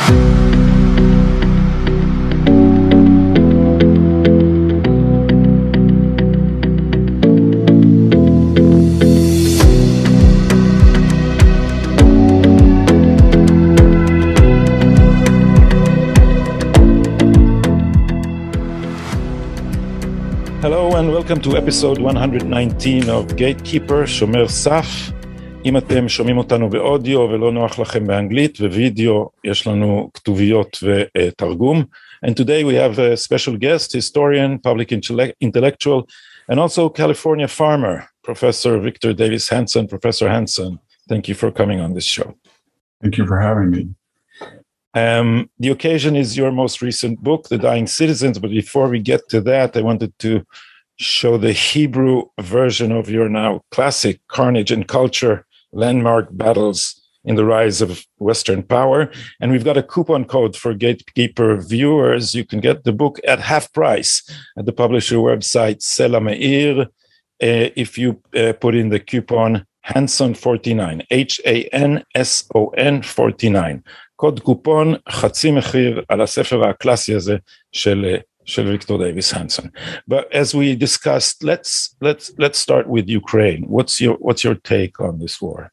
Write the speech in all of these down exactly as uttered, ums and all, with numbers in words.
Hello and welcome to episode one hundred nineteen of Gatekeeper, שומר סף. אם אתם שומעים אותנו באודיו ולא נוח לכם באנגלית ווידאו, יש לנו כתוביות ותרגום. And today we have a special guest, historian, public intellectual, and also California farmer, Professor Victor Davis Hanson. Professor Hanson, thank you for coming on this show. Thank you for having me. Um, the occasion is your most recent book, The Dying Citizens, but before we get to that, I wanted to show the Hebrew version of your now classic Carnage and Culture, Landmark Battles in the Rise of Western Power. And we've got a coupon code for Gatekeeper viewers. You can get the book at half price at the publisher website, Sela Meir, uh, if you uh, put in the coupon Hanson forty-nine, H A N S O N forty-nine. קוד קופון, חצי מחיר על הספר הקלאסי הזה של, של ויקטור דייוויס הנסון. But as we discussed, let's, let's, let's start with Ukraine. What's your, what's your take on this war?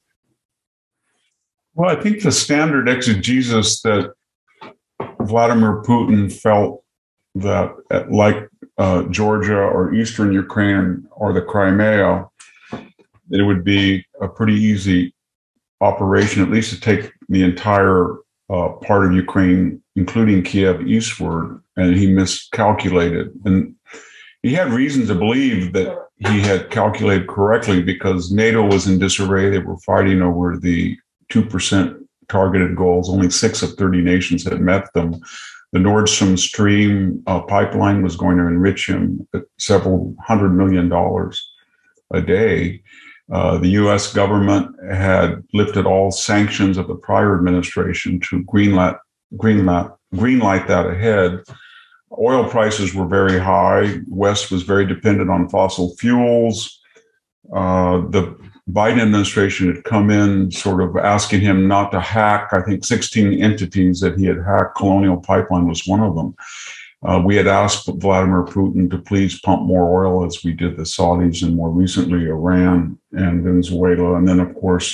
Well, I think the standard exegesis that Vladimir Putin felt that like uh, Georgia or Eastern Ukraine or the Crimea, it would be a pretty easy operation, at least to take the entire Uh, part of Ukraine, including Kiev eastward, and he miscalculated. And he had reason to believe that he had calculated correctly because NATO was in disarray. They were fighting over the two percent targeted goals. Only six of thirty nations had met them. The Nord Stream stream uh, pipeline was going to enrich him at several hundred million dollars a day. Uh, the U S government had lifted all sanctions of the prior administration to greenlight, greenlight, greenlight that ahead. Oil prices were very high. West was very dependent on fossil fuels. Uh, the Biden administration had come in sort of asking him not to hack, I think, sixteen entities that he had hacked. Colonial Pipeline was one of them. Uh, we had asked Vladimir Putin to please pump more oil as we did the Saudis and more recently Iran and Venezuela. And then, of course,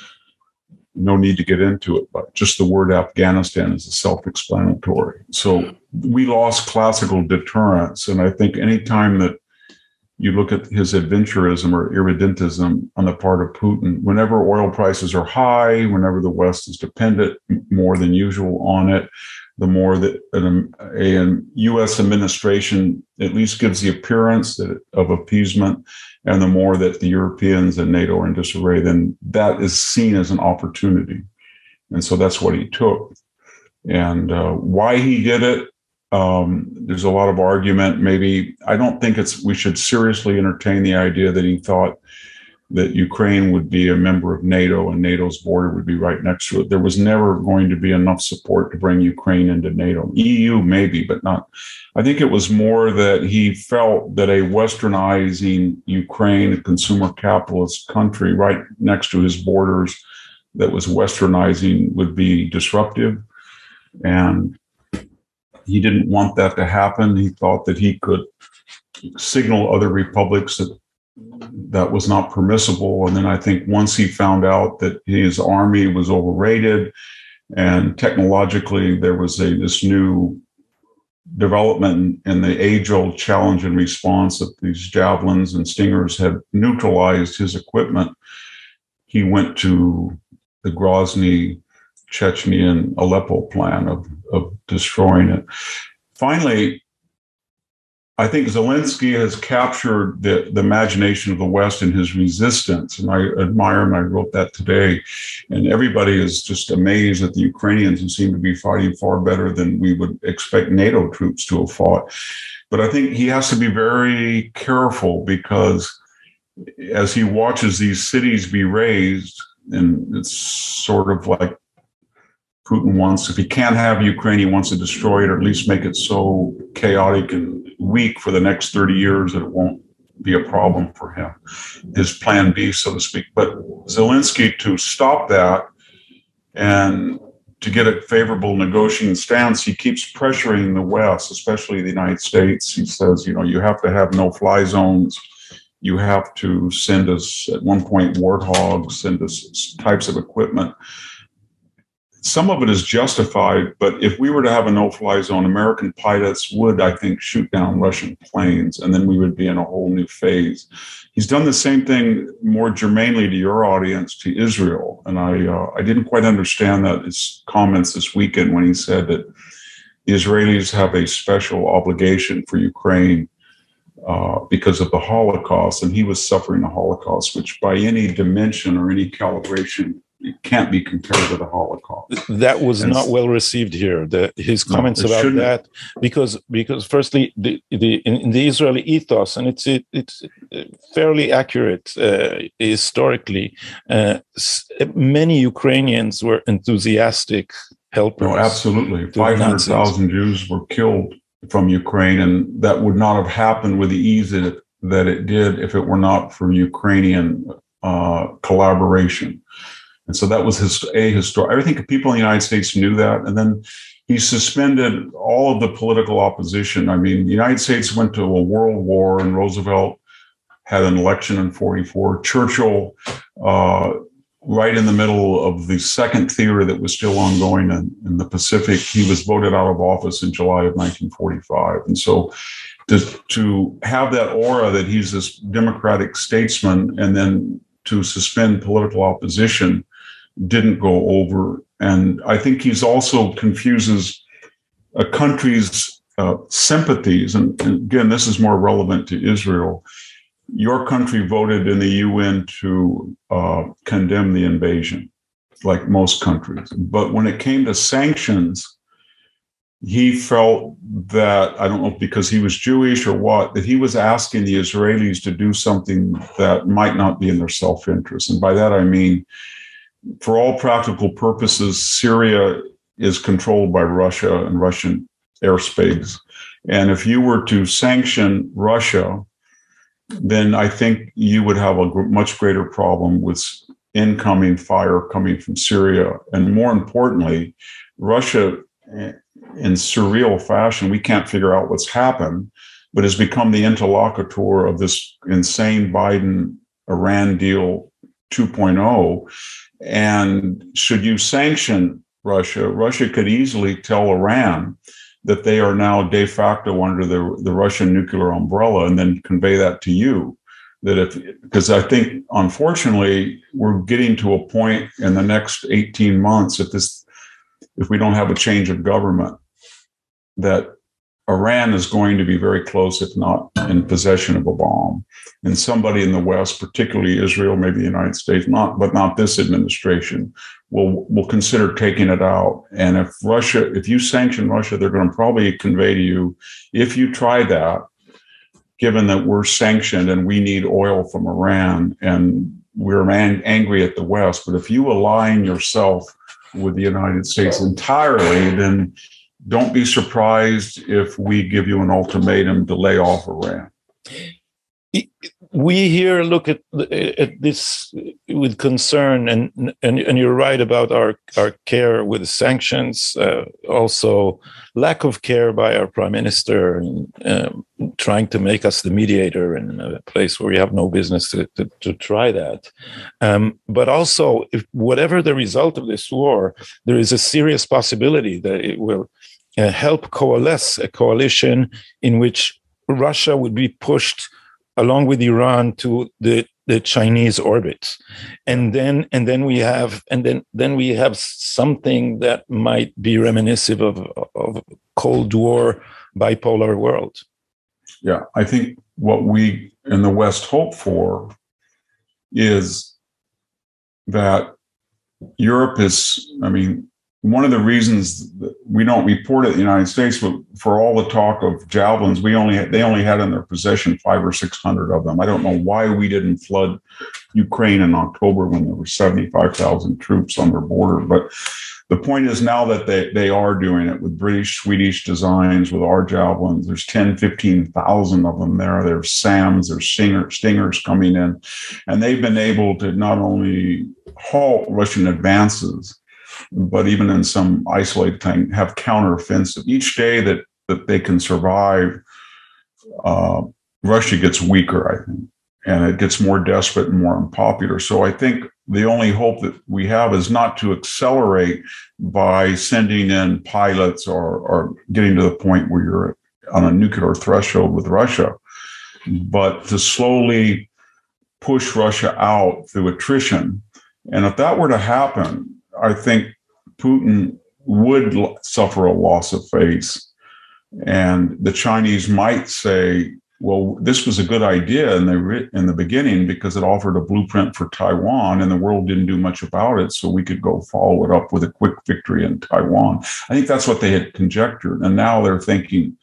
no need to get into it, but just the word Afghanistan is self-explanatory. So we lost classical deterrence. And I think anytime that you look at his adventurism or irredentism on the part of Putin, whenever oil prices are high, whenever the West is dependent more than usual on it, the more that an, a, a U S administration at least gives the appearance that, of appeasement, and the more that the Europeans and NATO are in disarray, then that is seen as an opportunity. And so that's what he took. And uh, why he did it, um, there's a lot of argument. Maybe, I don't think it's, we should seriously entertain the idea that he thought that Ukraine would be a member of NATO and NATO's border would be right next to it. There was never going to be enough support to bring Ukraine into NATO. E U maybe, but not. I think it was more that he felt that a westernizing Ukraine, a consumer capitalist country right next to his borders that was westernizing would be disruptive. And he didn't want that to happen. He thought that he could signal other republics that that was not permissible. And then I think once he found out that his army was overrated and technologically there was a this new development in the age-old challenge and response that these javelins and stingers had neutralized his equipment, he went to the Grozny, Chechnya, and Aleppo plan of, of destroying it. Finally, I think Zelensky has captured the, the imagination of the West in his resistance, and I admire him. I wrote that today, and everybody is just amazed at the Ukrainians who seem to be fighting far better than we would expect NATO troops to have fought. But I think he has to be very careful because as he watches these cities be razed, and it's sort of like Putin wants, if he can't have Ukraine, he wants to destroy it or at least make it so chaotic and weak for the next thirty years that it won't be a problem for him. His plan B, so to speak. But Zelensky, to stop that and to get a favorable negotiating stance, he keeps pressuring the West, especially the United States. He says, you know, you have to have no-fly zones. You have to send us, at one point, warthogs, send us types of equipment. Some of it is justified, but if we were to have a no-fly zone, American pilots would, I think, shoot down Russian planes, and then we would be in a whole new phase. He's done the same thing more germanely to your audience, to Israel, and I uh, I didn't quite understand that his comments this weekend when he said that the Israelis have a special obligation for Ukraine uh, because of the Holocaust, and he was suffering the Holocaust, which by any dimension or any calibration, it can't be compared to the Holocaust. That was and not well received here. The, his comments no, about shouldn't. that, because because firstly, the, the in, in the Israeli ethos, and it's it, it's fairly accurate uh, historically. Uh, many Ukrainians were enthusiastic helpers. No, absolutely. Five hundred thousand Jews were killed from Ukraine, and that would not have happened with the ease that it, that it did if it were not for Ukrainian uh, collaboration. And so that was his, a historic. I think people in the United States knew that. And then he suspended all of the political opposition. I mean, the United States went to a world war, and Roosevelt had an election in forty-four. Churchill, uh, right in the middle of the second theater that was still ongoing in, in the Pacific, he was voted out of office in July of nineteen forty-five. And so to, to have that aura that he's this democratic statesman, and then to suspend political opposition didn't go over. And I think he's also confuses a country's uh, sympathies. And, and again, this is more relevant to Israel. Your country voted in the U N to uh, condemn the invasion, like most countries. But when it came to sanctions, he felt that, I don't know because he was Jewish or what, that he was asking the Israelis to do something that might not be in their self-interest. And by that, I mean, for all practical purposes, Syria is controlled by Russia and Russian airspace. And if you were to sanction Russia, then I think you would have a much greater problem with incoming fire coming from Syria. And more importantly, Russia, in surreal fashion, we can't figure out what's happened, but has become the interlocutor of this insane Biden-Iran deal two point oh. And should you sanction Russia, Russia could easily tell Iran that they are now de facto under the, the Russian nuclear umbrella, and then convey that to you. That if, because I think, unfortunately, we're getting to a point in the next eighteen months, if this, if we don't have a change of government, that Iran is going to be very close, if not in possession of a bomb. And somebody in the West, particularly Israel, maybe the United States, not, but not this administration, will, will consider taking it out. And if Russia, if you sanction Russia, they're going to probably convey to you, if you try that, given that we're sanctioned and we need oil from Iran and we're man- angry at the West, but if you align yourself with the United States entirely, then don't be surprised if we give you an ultimatum to lay off Iran. We here look at at this with concern, and and, and you're right about our, our care with sanctions, uh, also lack of care by our prime minister, and, um, trying to make us the mediator in a place where we have no business to, to, to try that. Um, but also, if whatever the result of this war, there is a serious possibility that it will uh, help coalesce a coalition in which Russia would be pushed along with Iran to the, the Chinese orbit. And then and then we have and then then we have something that might be reminiscent of of Cold War bipolar world. Yeah, I think what we in the West hope for is that Europe is, I mean, one of the reasons that we don't report it in the United States, but for all the talk of javelins, we only had, they only had in their possession five or six hundred of them. I don't know why we didn't flood Ukraine in October when there were seventy-five thousand troops on their border. But the point is now that they, they are doing it with British, Swedish designs, with our javelins. There's ten, fifteen thousand of them there. There's SAMs, there's Stinger, Stingers coming in. And they've been able to not only halt Russian advances, but even in some isolated thing, have counteroffensive. Each day that, that they can survive, uh, Russia gets weaker, I think, and it gets more desperate and more unpopular. So I think the only hope that we have is not to accelerate by sending in pilots or, or getting to the point where you're on a nuclear threshold with Russia, but to slowly push Russia out through attrition. And if that were to happen, I think Putin would suffer a loss of face. And the Chinese might say, well, this was a good idea in the, in the beginning because it offered a blueprint for Taiwan and the world didn't do much about it. So we could go follow it up with a quick victory in Taiwan. I think that's what they had conjectured. And now they're thinking,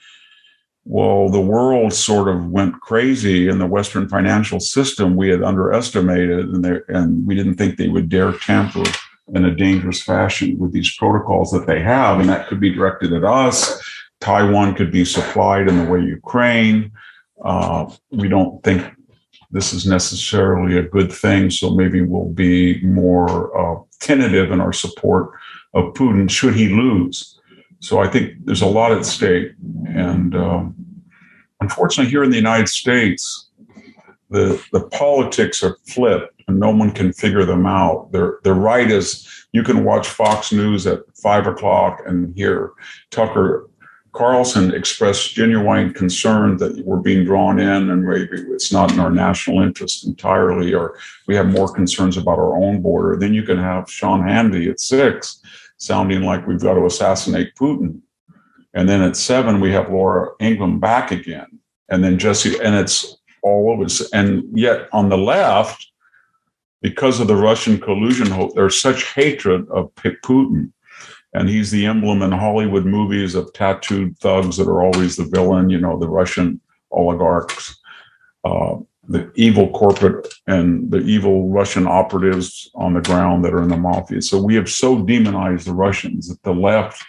well, the world sort of went crazy in the Western financial system. We had underestimated and, and we didn't think they would dare tamper in a dangerous fashion with these protocols that they have. And that could be directed at us. Taiwan could be supplied in the way Ukraine. Uh, we don't think this is necessarily a good thing, so maybe we'll be more uh, tentative in our support of Putin should he lose. So I think there's a lot at stake. And um, unfortunately, here in the United States, the, the politics are flipped and no one can figure them out. They're, they're right as you can watch Fox News at five o'clock and hear Tucker Carlson expressed genuine concern that we're being drawn in and maybe it's not in our national interest entirely, or we have more concerns about our own border. Then you can have Sean Hannity at six sounding like we've got to assassinate Putin. And then at seven, we have Laura Ingraham back again. And then Jesse, and it's all over. And yet on the left, because of the Russian collusion hope, there's such hatred of Putin. And he's the emblem in Hollywood movies of tattooed thugs that are always the villain, you know, the Russian oligarchs, uh, the evil corporate and the evil Russian operatives on the ground that are in the mafia. So we have so demonized the Russians that the left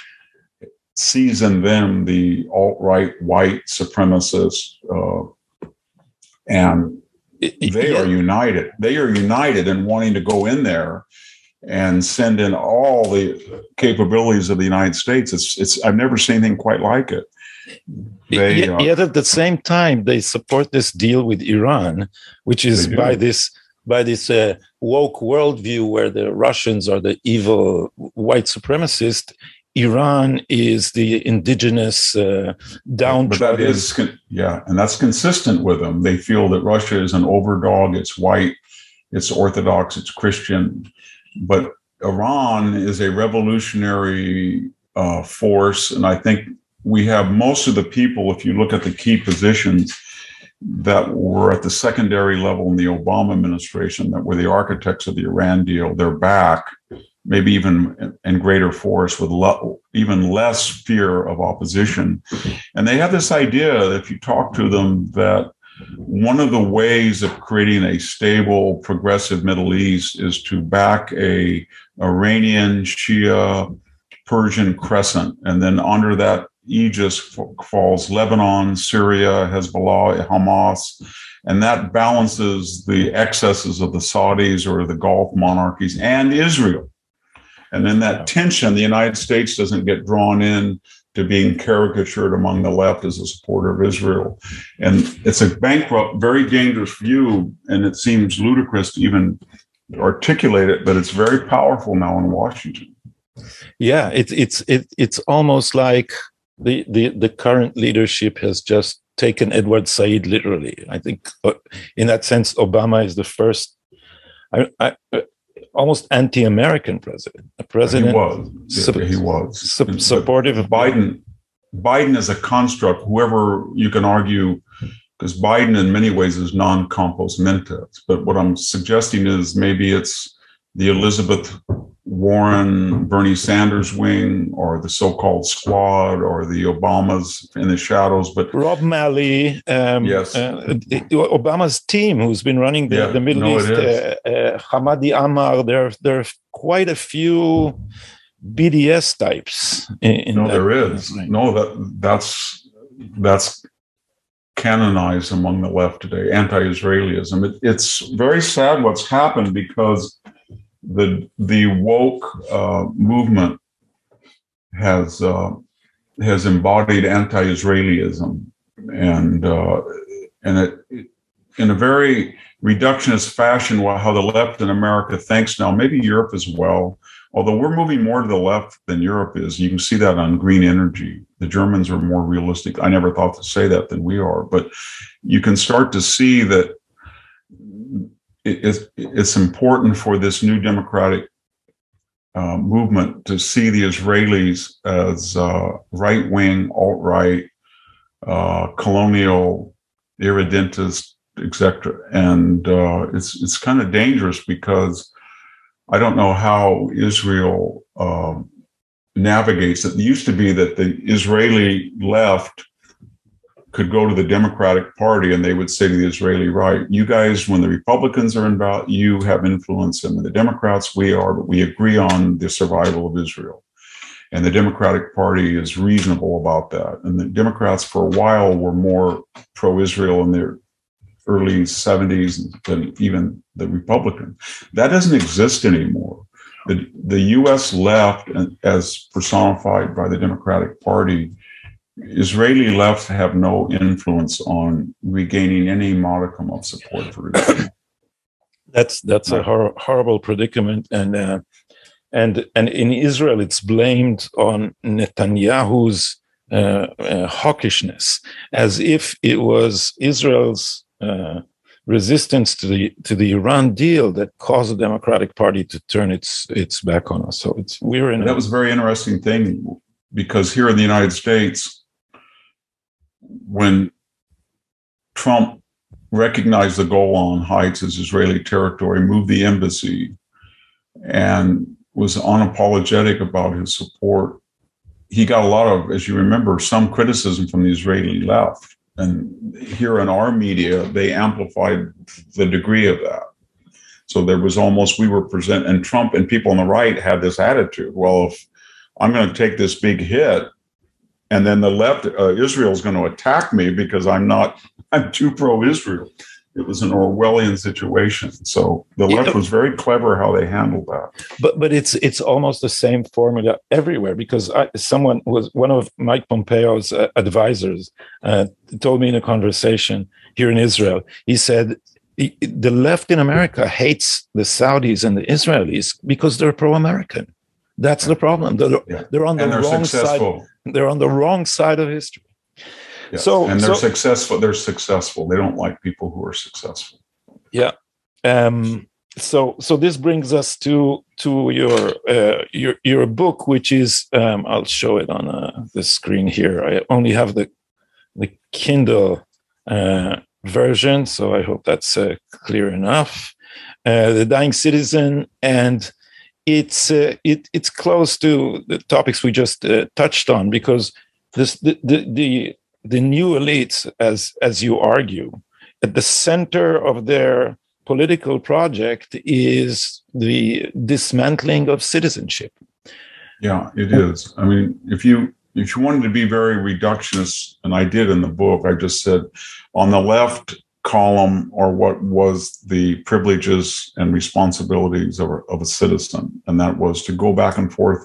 sees in them the alt-right white supremacists, uh, and they are united. They are united in wanting to go in there and send in all the capabilities of the United States. It's, it's. I've never seen anything quite like it. They, yet, uh, yet at the same time, they support this deal with Iran, which is by this by this uh, woke worldview where the Russians are the evil white supremacist. Iran is the indigenous uh, downtrodden. But that is, yeah, and that's consistent with them. They feel that Russia is an overdog. It's white, it's Orthodox, it's Christian. But Iran is a revolutionary uh, force, and I think we have most of the people, if you look at the key positions that were at the secondary level in the Obama administration, that were the architects of the Iran deal, they're back, maybe even in greater force with le- even less fear of opposition. And they have this idea that if you talk to them that one of the ways of creating a stable, progressive Middle East is to back a Iranian Shia Persian crescent. And then under that aegis falls Lebanon, Syria, Hezbollah, Hamas. And that balances the excesses of the Saudis or the Gulf monarchies and Israel. And then that tension, the United States doesn't get drawn in to being caricatured among the left as a supporter of Israel. And it's a bankrupt, very dangerous view, and it seems ludicrous to even articulate it, but it's very powerful now in Washington. Yeah, it, it's it, it's almost like the, the, the current leadership has just taken Edward Said literally. I think uh, in that sense, Obama is the first I, I, uh, almost anti-American president. A president he was. Su- yeah, he was. Su- supportive of Biden. Biden is a construct. Whoever you can argue, because Biden in many ways is non-compos mentis. But what I'm suggesting is maybe it's the Elizabeth Warren, Bernie Sanders wing, or the so-called squad, or the Obamas in the shadows. But Rob Malley, um, yes, uh, Obama's team, who's been running the, yeah, the Middle no, East, uh, uh, Hamadi Ammar. There, there are quite a few B D S types. In, in no, that, there is right. no that that's that's canonized among the left today. Anti-Israelism. It, it's very sad what's happened because the the woke uh, movement has uh, has embodied anti-Israelism, and uh, and it, in a very reductionist fashion, how the left in America thinks now, maybe Europe as well. Although we're moving more to the left than Europe is, you can see that on green energy. The Germans are more realistic. I never thought to say that than we are, but you can start to see that it's, it's important for this new democratic uh, movement to see the Israelis as uh, right-wing, alt-right, uh, colonial, irredentist, et cetera. And uh, it's it's kind of dangerous because I don't know how Israel um, navigates it. It used to be that the Israeli left could go to the Democratic Party and they would say to the Israeli right, you guys, when the Republicans are involved, you have influence, and the Democrats, we are, but we agree on the survival of Israel. And the Democratic Party is reasonable about that. And the Democrats for a while were more pro-Israel in their early seventies than even the Republicans. That doesn't exist anymore. The, the U S left, as personified by the Democratic Party, Israeli left have no influence on regaining any modicum of support for Israel. That's that's a hor- horrible predicament, and uh, and and in Israel, it's blamed on Netanyahu's uh, uh, hawkishness, as if it was Israel's Uh, resistance to the to the Iran deal that caused the Democratic Party to turn its its back on us. So it's we're in. That a, was a very interesting thing, because here in the United States, when Trump recognized the Golan Heights as Israeli territory, moved the embassy, and was unapologetic about his support, he got a lot of, as you remember, some criticism from the Israeli left. And here in our media, they amplified the degree of that. So there was almost, we were present, and Trump and people on the right had this attitude, well, if I'm going to take this big hit, and then the left, uh, Israel is going to attack me because I'm not, I'm too pro-Israel. It was an Orwellian situation. So the left yeah. was very clever how they handled that. But but it's it's almost the same formula everywhere, because I, someone was one of Mike Pompeo's uh, advisors uh, told me in a conversation here in Israel. He said the left in America hates the Saudis and the Israelis because they're pro-American. That's the problem. They're, yeah. they're on the and they're wrong successful. side. They're on the wrong side of history. Yeah. So and they're so, successful. They're successful. They don't like people who are successful. Yeah. Um, so so this brings us to to your uh, your your book, which is um, I'll show it on uh, the screen here. I only have the the Kindle uh, version, so I hope that's uh, clear enough. Uh, the Dying Citizen, and it's uh, it it's close to the topics we just uh, touched on, because this the the, the the new elites, as as you argue, at the center of their political project is the dismantling of citizenship. Yeah, it is. I mean, if you if you wanted to be very reductionist, and I did in the book, I just said on the left column are what was the privileges and responsibilities of a, of a citizen, and that was to go back and forth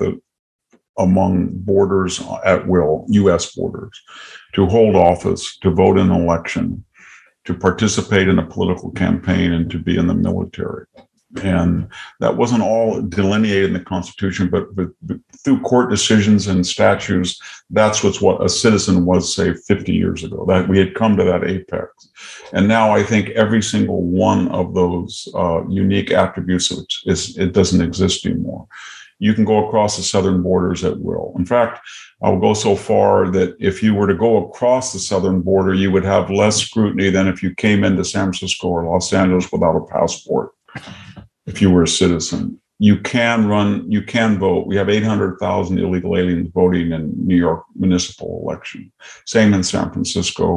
among borders at will, U S borders, to hold office, to vote in an election, to participate in a political campaign, and to be in the military. And that wasn't all delineated in the Constitution, but, but, but through court decisions and statutes, that's what's what a citizen was, say, fifty years ago, that we had come to that apex. And now I think every single one of those uh, unique attributes is, it doesn't exist anymore. You can go across the southern borders at will. In fact, I'll go so far that if you were to go across the southern border, you would have less scrutiny than if you came into San Francisco or Los Angeles without a passport, if you were a citizen. You can run, you can vote. We have eight hundred thousand illegal aliens voting in New York municipal election. Same in San Francisco.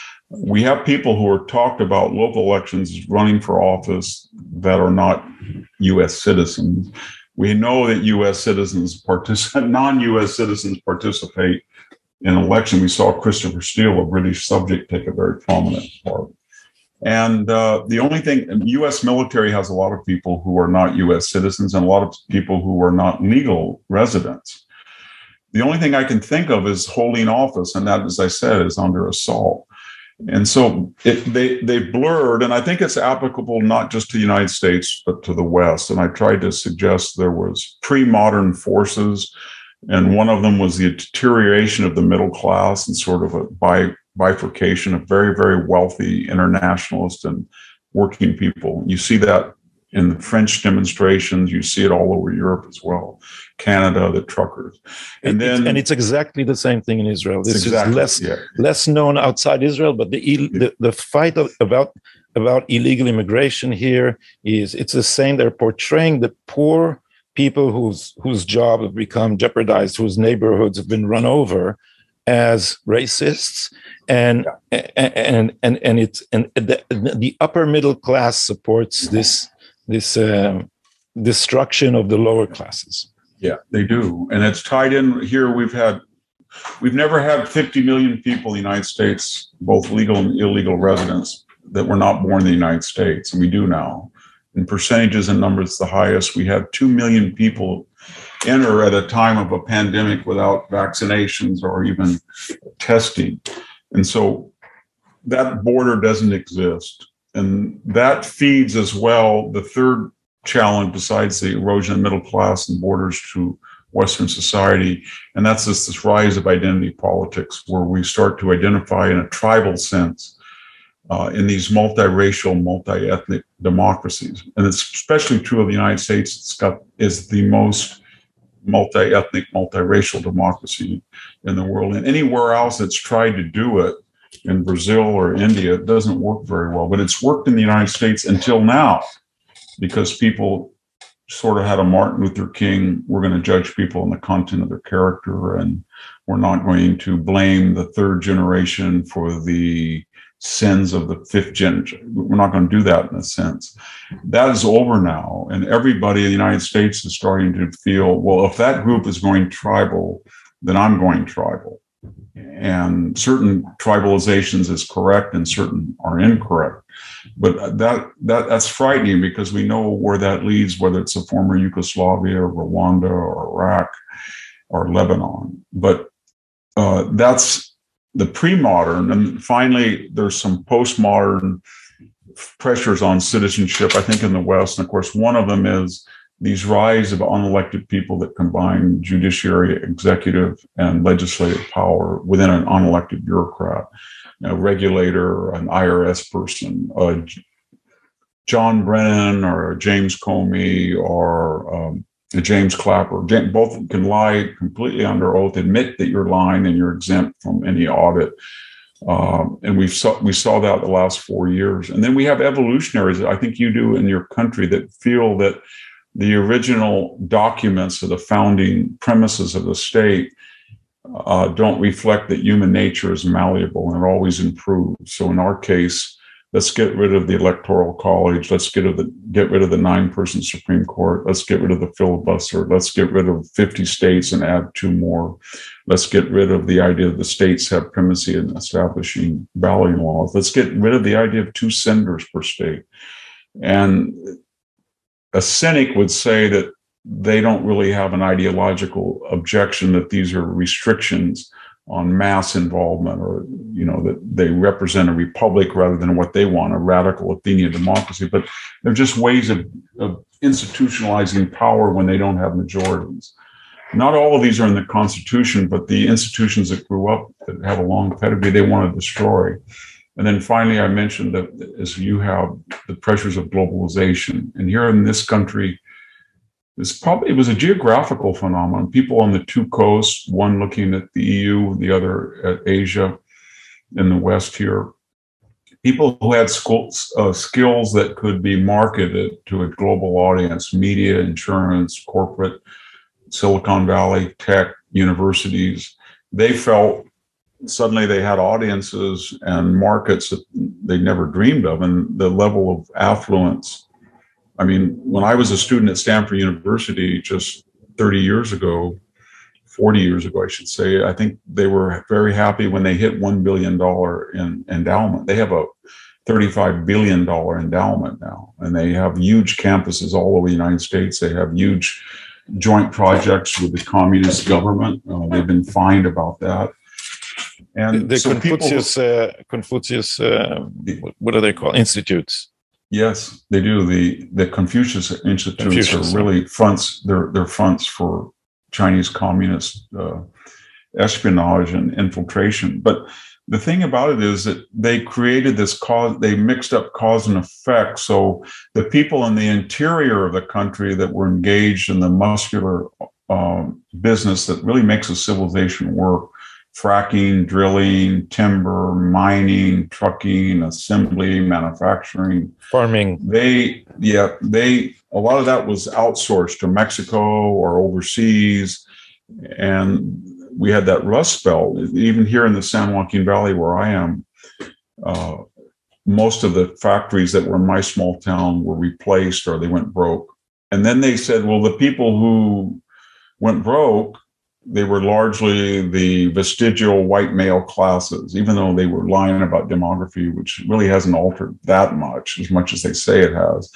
We have people who are talked about local elections running for office that are not U S citizens. We know that U S citizens participate, non-U S citizens participate in election. We saw Christopher Steele, a British subject, take a very prominent part. And uh, the only thing, the U S military has a lot of people who are not U S citizens and a lot of people who are not legal residents. The only thing I can think of is holding office, and that, as I said, is under assault. And so it, they they blurred, and I think it's applicable not just to the United States, but to the West. And I tried to suggest there was pre-modern forces, and one of them was the deterioration of the middle class and sort of a bi- bifurcation of very, very wealthy internationalists and working people. You see that in the French demonstrations. You see it all over Europe as well. Canada, the truckers. And It- it's- then and it's exactly the same thing in Israel. This exactly, is less yeah. less known outside Israel, but the ill- the, the fight of, about about illegal immigration here is it's the same. They're portraying the poor people whose whose job have become jeopardized, whose neighborhoods have been run over, as racists, and and and and it's and the, the upper middle class supports this this um, destruction of the lower classes. Yeah, they do. And it's tied in here. We've had, we've never had fifty million people in the United States, both legal and illegal residents, that were not born in the United States. And we do now. In percentages and numbers, the highest. We had two million people enter at a time of a pandemic without vaccinations or even testing. And so that border doesn't exist. And that feeds as well the third challenge besides the erosion of middle class and borders to Western society. And that's this, this rise of identity politics, where we start to identify in a tribal sense uh, in these multiracial, multi-ethnic democracies. And it's especially true of the United States. It's got is the most multi-ethnic, multiracial democracy in the world. And anywhere else that's tried to do it, in Brazil or India, it doesn't work very well. But it's worked in the United States until now, because people sort of had a Martin Luther King, we're going to judge people on the content of their character, and we're not going to blame the third generation for the sins of the fifth generation. We're not going to do that in a sense. That is over now, and everybody in the United States is starting to feel, well, if that group is going tribal, then I'm going tribal. And certain tribalizations is correct and certain are incorrect. But that that that's frightening, because we know where that leads, whether it's a former Yugoslavia or Rwanda or Iraq or Lebanon. But uh, that's the pre-modern. And finally, there's some postmodern pressures on citizenship, I think, in the West. And of course, one of them is these rise of unelected people that combine judiciary, executive, and legislative power within an unelected bureaucrat, a regulator, an I R S person, a John Brennan or a James Comey or um, a James Clapper. Both can lie completely under oath, admit that you're lying, and you're exempt from any audit. Um, and we saw we saw that the last four years. And then we have evolutionaries that I think you do in your country that feel that the original documents of the founding premises of the state uh, don't reflect that human nature is malleable and it always improves. So in our case, let's get rid of the Electoral College. Let's get, of the, get rid of the nine-person Supreme Court. Let's get rid of the filibuster. Let's get rid of fifty states and add two more. Let's get rid of the idea that the states have primacy in establishing balloting laws. Let's get rid of the idea of two senators per state. And a cynic would say that they don't really have an ideological objection that these are restrictions on mass involvement, or, you know, that they represent a republic rather than what they want, a radical Athenian democracy. But they're just ways of, of institutionalizing power when they don't have majorities. Not all of these are in the Constitution, but the institutions that grew up that have a long pedigree, they want to destroy. And then finally, I mentioned that as you have the pressures of globalization, and here in this country, it's probably it was a geographical phenomenon. People on the two coasts, one looking at the E U, the other at Asia, in the West here, people who had schools, uh, skills that could be marketed to a global audience, media, insurance, corporate, Silicon Valley, tech, universities, they felt suddenly they had audiences and markets that they never dreamed of, and the level of affluence. I mean, when I was a student at Stanford University just thirty years ago, forty years ago, I should say, I think they were very happy when they hit one billion dollars in endowment. They have a thirty-five billion dollars endowment now, and they have huge campuses all over the United States. They have huge joint projects with the communist government. Uh, they've been fined about that. And the so Confucius, people, uh, Confucius, uh, what are they called? Institutes. Yes, they do. The the Confucius Institutes Confucius. are really fronts. They're they're fronts for Chinese communist uh, espionage and infiltration. But the thing about it is that they created this cause. They mixed up cause and effect. So the people in the interior of the country that were engaged in the muscular um, business that really makes a civilization work. Fracking, drilling, timber, mining, trucking, assembly, manufacturing, farming. They, yeah, they, a lot of that was outsourced to Mexico or overseas. And we had that rust belt. Even here in the San Joaquin Valley where I am, uh, most of the factories that were in my small town were replaced or they went broke. And then they said, well, the people who went broke, they were largely the vestigial white male classes, even though they were lying about demography, which really hasn't altered that much, as much as they say it has.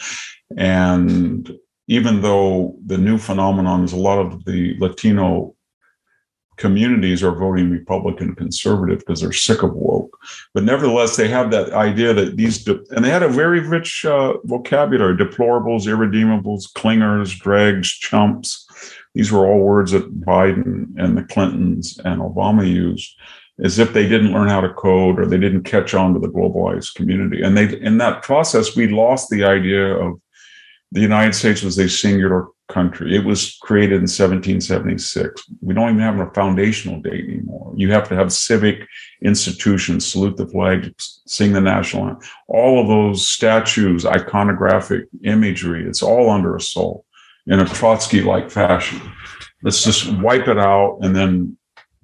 And even though the new phenomenon is a lot of the Latino communities are voting Republican conservative because they're sick of woke. But nevertheless, they have that idea that these, de- and they had a very rich uh, vocabulary, deplorables, irredeemables, clingers, dregs, chumps. These were all words that Biden and the Clintons and Obama used as if they didn't learn how to code or they didn't catch on to the globalized community. And they, in that process, we lost the idea of the United States was a singular country. It was created in seventeen seventy-six. We don't even have a foundational date anymore. You have to have civic institutions, salute the flag, sing the national anthem. All of those statues, iconographic imagery, it's all under assault in a Trotsky-like fashion. Let's just wipe it out and then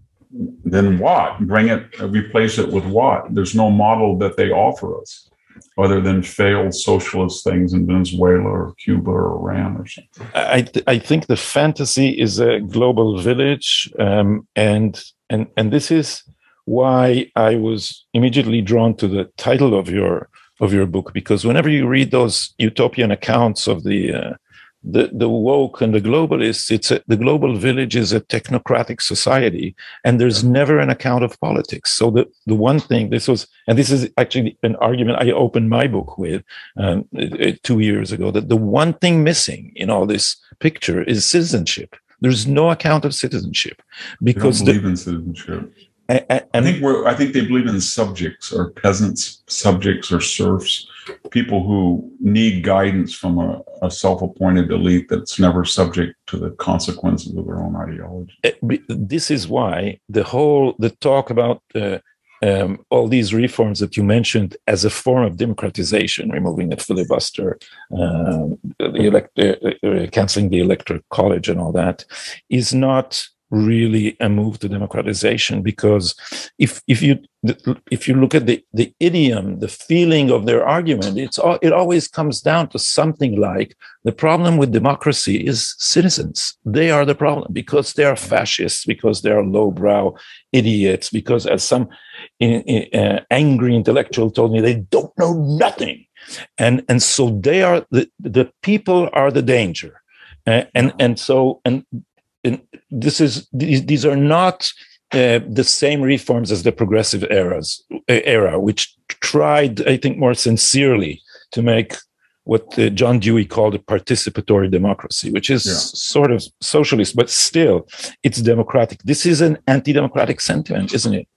then what? Bring it, replace it with what? There's no model that they offer us other than failed socialist things in Venezuela or Cuba or Iran or something. I th- I think the fantasy is a global village, um, and and and this is why I was immediately drawn to the title of your of your book, because whenever you read those utopian accounts of the uh, the the woke and the globalists, it's a, the global village is a technocratic society, and there's never an account of politics. So the the one thing, this was, and this is actually an argument I opened my book with um, two years ago, that the one thing missing in all this picture is citizenship. There's no account of citizenship because they don't believe the, in citizenship. And, and, I think we're. I think they believe in subjects or peasants, subjects or serfs, people who need guidance from a, a self-appointed elite that's never subject to the consequences of their own ideology. This is why the whole the talk about uh, um, all these reforms that you mentioned as a form of democratization, removing the filibuster, uh, the elect, uh, uh, canceling the electoral college, and all that, is not really a move to democratization, because if if you if you look at the the idiom, the feeling of their argument, it's all, it always comes down to something like the problem with democracy is citizens. They are the problem because they are fascists, because they are lowbrow idiots, because as some in, in, uh, angry intellectual told me, they don't know nothing, and and so they are the the people are the danger, uh, and and so and. And this is these, these are not uh, the same reforms as the progressive eras era, which tried, I think, more sincerely to make what uh, John Dewey called a participatory democracy, which is yeah. sort of socialist, but still it's democratic. This is an anti-democratic sentiment, isn't it?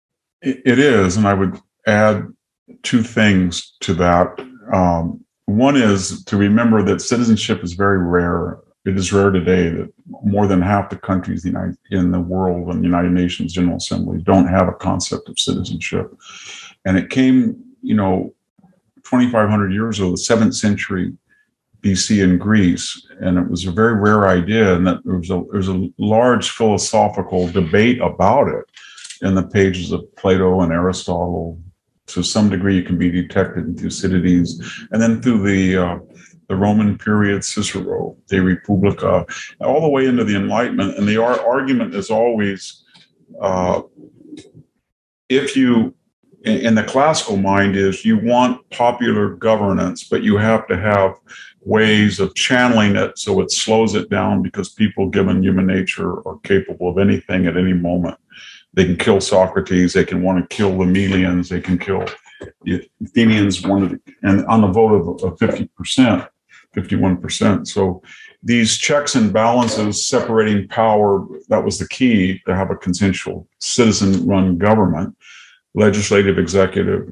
It is, and I would add two things to that. Um, one is to remember that citizenship is very rare. It is rare today that more than half the countries in the world and the United Nations General Assembly don't have a concept of citizenship. And it came, you know, twenty-five hundred years ago, the seventh century B C in Greece, and it was a very rare idea, and that there was a, there was a large philosophical debate about it in the pages of Plato and Aristotle. To some degree, it can be detected in Thucydides, and then through the uh, the Roman period, Cicero, De Republica, all the way into the Enlightenment. And the argument is always, uh, if you in, in the classical mind is you want popular governance, but you have to have ways of channeling it so it slows it down, because people, given human nature, are capable of anything at any moment. They can kill Socrates. They can want to kill the Melians. They can kill the Athenians. Wanted, and on the vote of, of fifty percent, fifty-one percent. So these checks and balances separating power, that was the key to have a consensual citizen-run government, legislative, executive,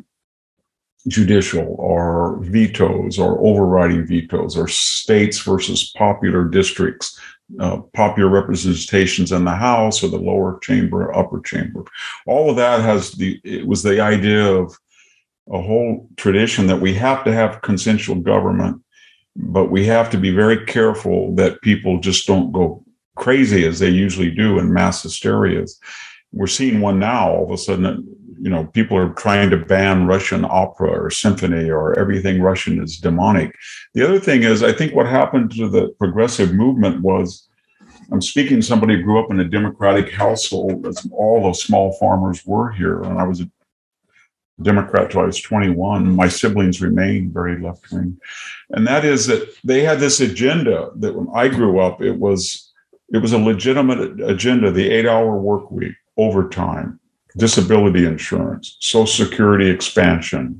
judicial, or vetoes, or overriding vetoes, or states versus popular districts, uh, popular representations in the House or the lower chamber, upper chamber. All of that has the, it was the idea of a whole tradition that we have to have consensual government, but we have to be very careful that people just don't go crazy as they usually do in mass hysterias. We're seeing one now. All of a sudden, you know, people are trying to ban Russian opera or symphony, or everything Russian is demonic. The other thing is, I think what happened to the progressive movement was, I'm speaking to somebody who grew up in a democratic household, as all the small farmers were here, and I was a Democrat till I was twenty-one. My siblings remained very left-wing. And that is that they had this agenda that when I grew up, it was it was a legitimate agenda: the eight-hour work week, overtime, disability insurance, Social Security expansion,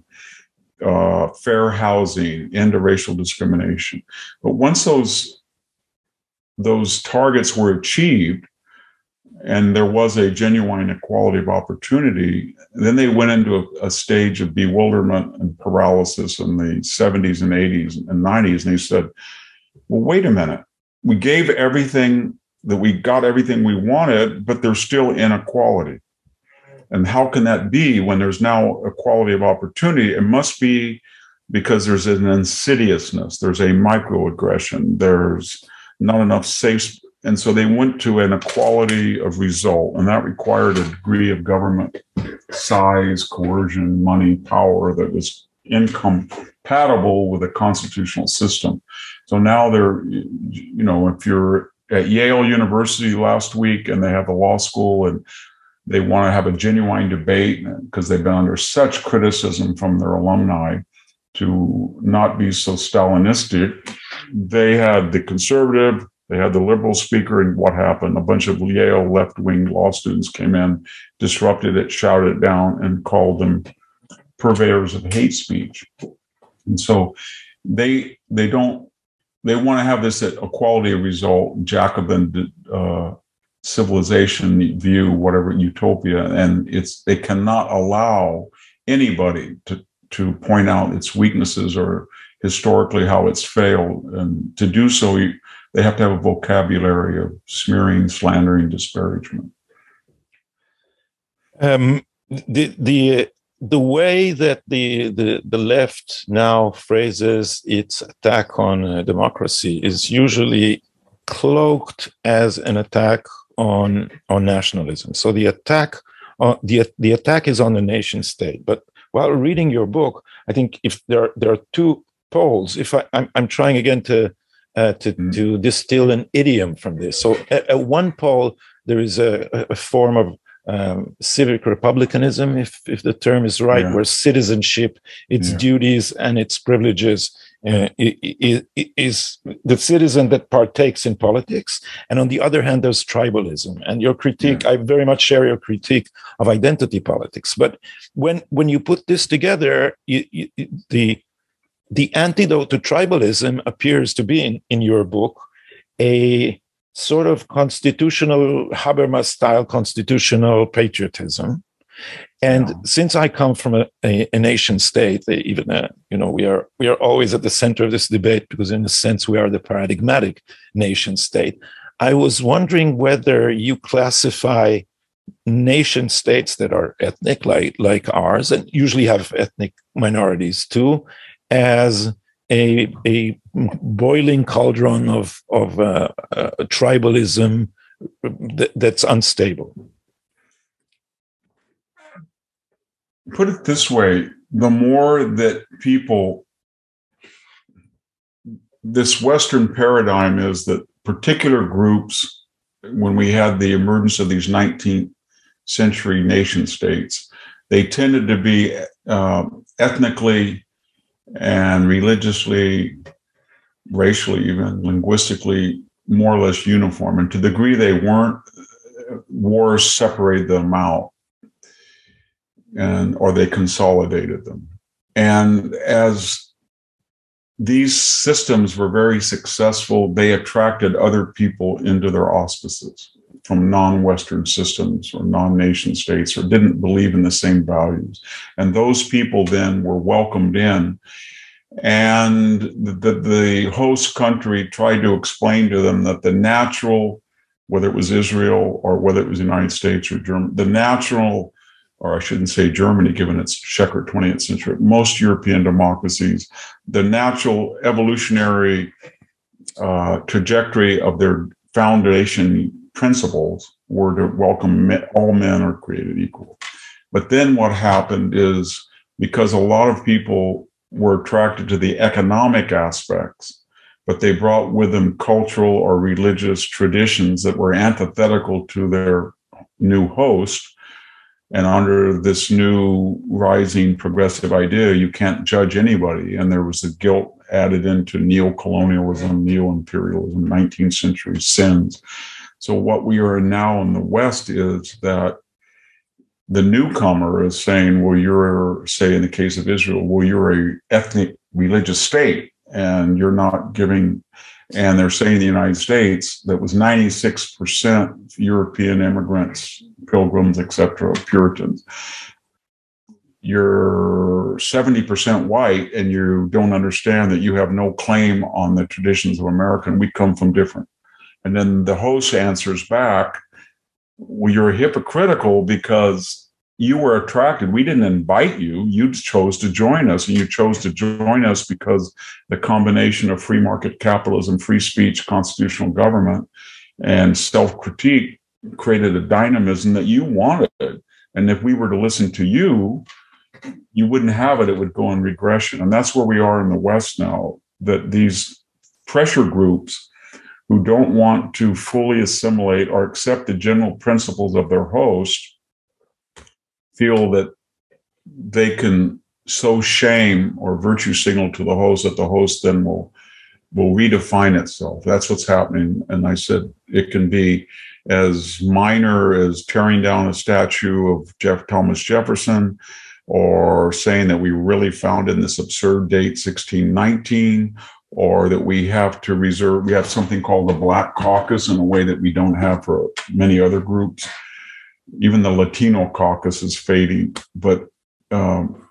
uh, fair housing, end to racial discrimination. But once those those targets were achieved, and there was a genuine equality of opportunity, then they went into a, a stage of bewilderment and paralysis in the seventies and eighties and nineties. And they said, well, wait a minute. We gave everything, that we got everything we wanted, but there's still inequality. And how can that be when there's now equality of opportunity? It must be because there's an insidiousness, there's a microaggression, there's not enough safe. And so they went to an equality of result, and that required a degree of government size, coercion, money, power that was incompatible with a constitutional system. So now they're, you know, if you're at Yale University last week and they have a law school and they want to have a genuine debate because they've been under such criticism from their alumni to not be so Stalinistic, they had the conservative, they had the liberal speaker, and what happened? A bunch of Yale left-wing law students came in, disrupted it, shouted it down, and called them purveyors of hate speech. And so they they don't they want to have this equality of result, Jacobin uh, civilization view, whatever, utopia, and it's they cannot allow anybody to to point out its weaknesses or historically how it's failed, and to do so, you, they have to have a vocabulary of smearing, slandering, disparagement. Um, the the the way that the, the the left now phrases its attack on uh, democracy is usually cloaked as an attack on on nationalism. So the attack on the the attack is on the nation state. But while reading your book, I think if there there are two poles. If I I'm, I'm trying again to Uh, to, mm. to distill an idiom from this. So at, at one pole, there is a, a form of um, civic republicanism, if, if the term is right, yeah. where citizenship, its yeah. duties and its privileges uh, is, is the citizen that partakes in politics. And on the other hand, there's tribalism. And your critique, yeah. I very much share your critique of identity politics. But when, when you put this together, you, you, the The antidote to tribalism appears to be, in, in your book, a sort of constitutional, Habermas-style constitutional patriotism. And yeah. since I come from a, a, a nation state, even uh, you know, we are we are always at the center of this debate because, in a sense, we are the paradigmatic nation state. I was wondering whether you classify nation states that are ethnic, like like ours, and usually have ethnic minorities too, as a a boiling cauldron of of uh, uh, tribalism th- that's unstable. Put it this way: the more that people, this Western paradigm is that particular groups, when we had the emergence of these nineteenth century nation states, they tended to be uh, ethnically and religiously, racially, even linguistically, more or less uniform. And to the degree they weren't, wars separated them out, and or they consolidated them. And as these systems were very successful, they attracted other people into their auspices from non-Western systems or non-nation states, or didn't believe in the same values. And those people then were welcomed in. And the, the host country tried to explain to them that the natural, whether it was Israel or whether it was the United States or Germany, the natural, or I shouldn't say Germany, given its checkered twentieth century, most European democracies, the natural evolutionary uh, trajectory of their foundation principles were to welcome men, all men are created equal. But then what happened is, because a lot of people were attracted to the economic aspects, but they brought with them cultural or religious traditions that were antithetical to their new host. And under this new rising progressive idea, you can't judge anybody. And there was a guilt added into neo-colonialism, neo-imperialism, nineteenth century sins. So what we are now in the West is that the newcomer is saying, well, you're, say in the case of Israel, well, you're a ethnic religious state and you're not giving, and they're saying in the United States that was ninety-six percent European immigrants, pilgrims, et cetera, Puritans. You're seventy percent white and you don't understand that you have no claim on the traditions of America, and we come from different. And then the host answers back, well, you're hypocritical because you were attracted. We didn't invite you. You chose to join us, and you chose to join us because the combination of free market capitalism, free speech, constitutional government, and self-critique created a dynamism that you wanted. And if we were to listen to you, you wouldn't have it. It would go in regression. And that's where we are in the West now, that these pressure groups who don't want to fully assimilate or accept the general principles of their host feel that they can sow shame or virtue signal to the host that the host then will will redefine itself. That's what's happening. And I said it can be as minor as tearing down a statue of Jeff Thomas Jefferson, or saying that we really founded this absurd date sixteen nineteen, or that we have to reserve, we have something called the Black Caucus in a way that we don't have for many other groups. Even the Latino caucus is fading, but um,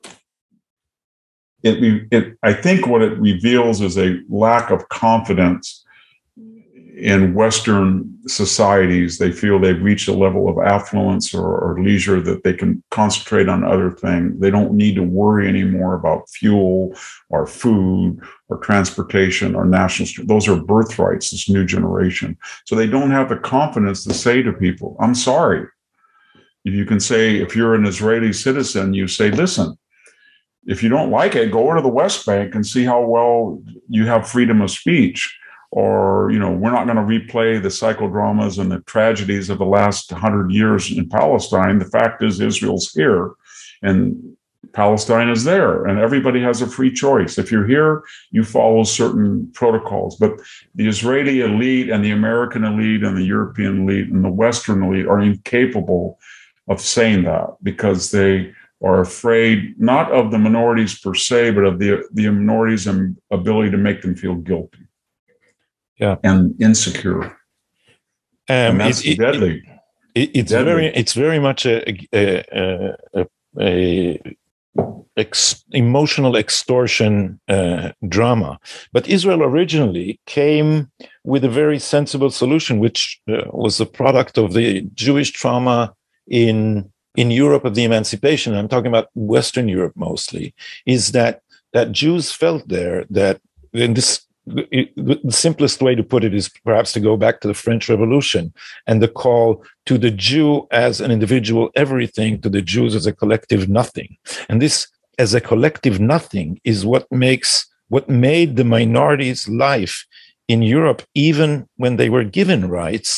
it, it, I think what it reveals is a lack of confidence in Western societies. They feel they've reached a level of affluence or, or leisure that they can concentrate on other things. They don't need to worry anymore about fuel or food or transportation or national. Those are birthrights, this new generation. So they don't have the confidence to say to people, I'm sorry. You can say, if you're an Israeli citizen, you say, listen, if you don't like it, go over to the West Bank and see how well you have freedom of speech. Or, you know, we're not going to replay the psychodramas and the tragedies of the last hundred years in Palestine. The fact is, Israel's here and Palestine is there, and everybody has a free choice. If you're here, you follow certain protocols. But the Israeli elite and the American elite and the European elite and the Western elite are incapable of saying that, because they are afraid not of the minorities per se, but of the, the minorities' ability to make them feel guilty. Yeah, and insecure, um, and that's it, deadly. It, it's deadly. very, it's very much a, a, a, a ex, emotional extortion uh, drama. But Israel originally came with a very sensible solution, which uh, was a product of the Jewish trauma in in Europe of the emancipation. I'm talking about Western Europe mostly. Is that that Jews felt there that in this. It, the simplest way to put it is perhaps to go back to the French Revolution and the call to the Jew as an individual everything, to the Jews as a collective nothing. And this as a collective nothing is what makes what made the minorities' life in Europe, even when they were given rights,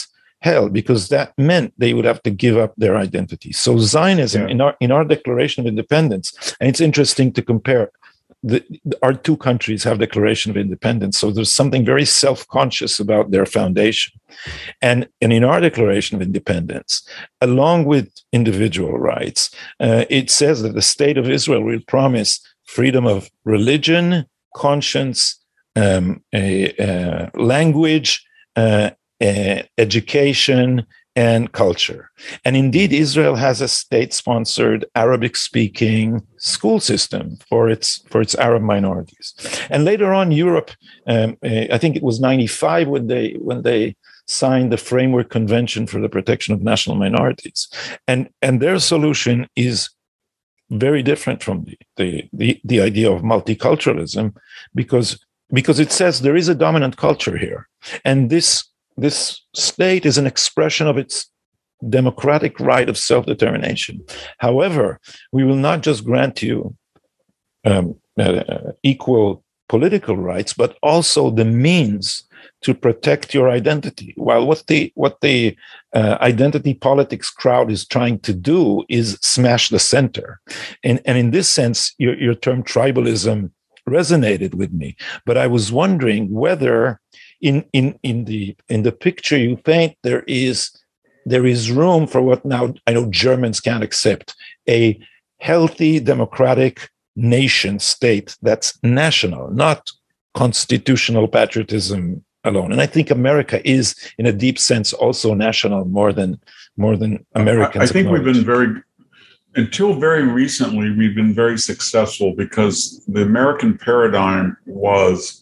hell, because that meant they would have to give up their identity. So Zionism, yeah. in our in our Declaration of Independence, and it's interesting to compare. The, our two countries have Declaration of Independence, so there's something very self-conscious about their foundation. And, and in our Declaration of Independence, along with individual rights, uh, it says that the state of Israel will promise freedom of religion, conscience, um, a, a language, uh, a education, and culture. And indeed, Israel has a state-sponsored Arabic-speaking school system for its for its Arab minorities. And later on, Europe, um, I think it was ninety-five when they when they signed the Framework Convention for the Protection of National Minorities, and and their solution is very different from the the the, the idea of multiculturalism, because because it says there is a dominant culture here, and this. This state is an expression of its democratic right of self-determination. However, we will not just grant you um, uh, equal political rights, but also the means to protect your identity. While what the what the uh, identity politics crowd is trying to do is smash the center, and and in this sense, your your term tribalism resonated with me. But I was wondering whether In, in in the in the picture you paint, there is there is room for what now I know Germans can't accept, a healthy democratic nation state that's national, not constitutional patriotism alone. And I think America is, in a deep sense, also national more than more than Americans. I, I think we've been very until very recently we've been very successful because the American paradigm was.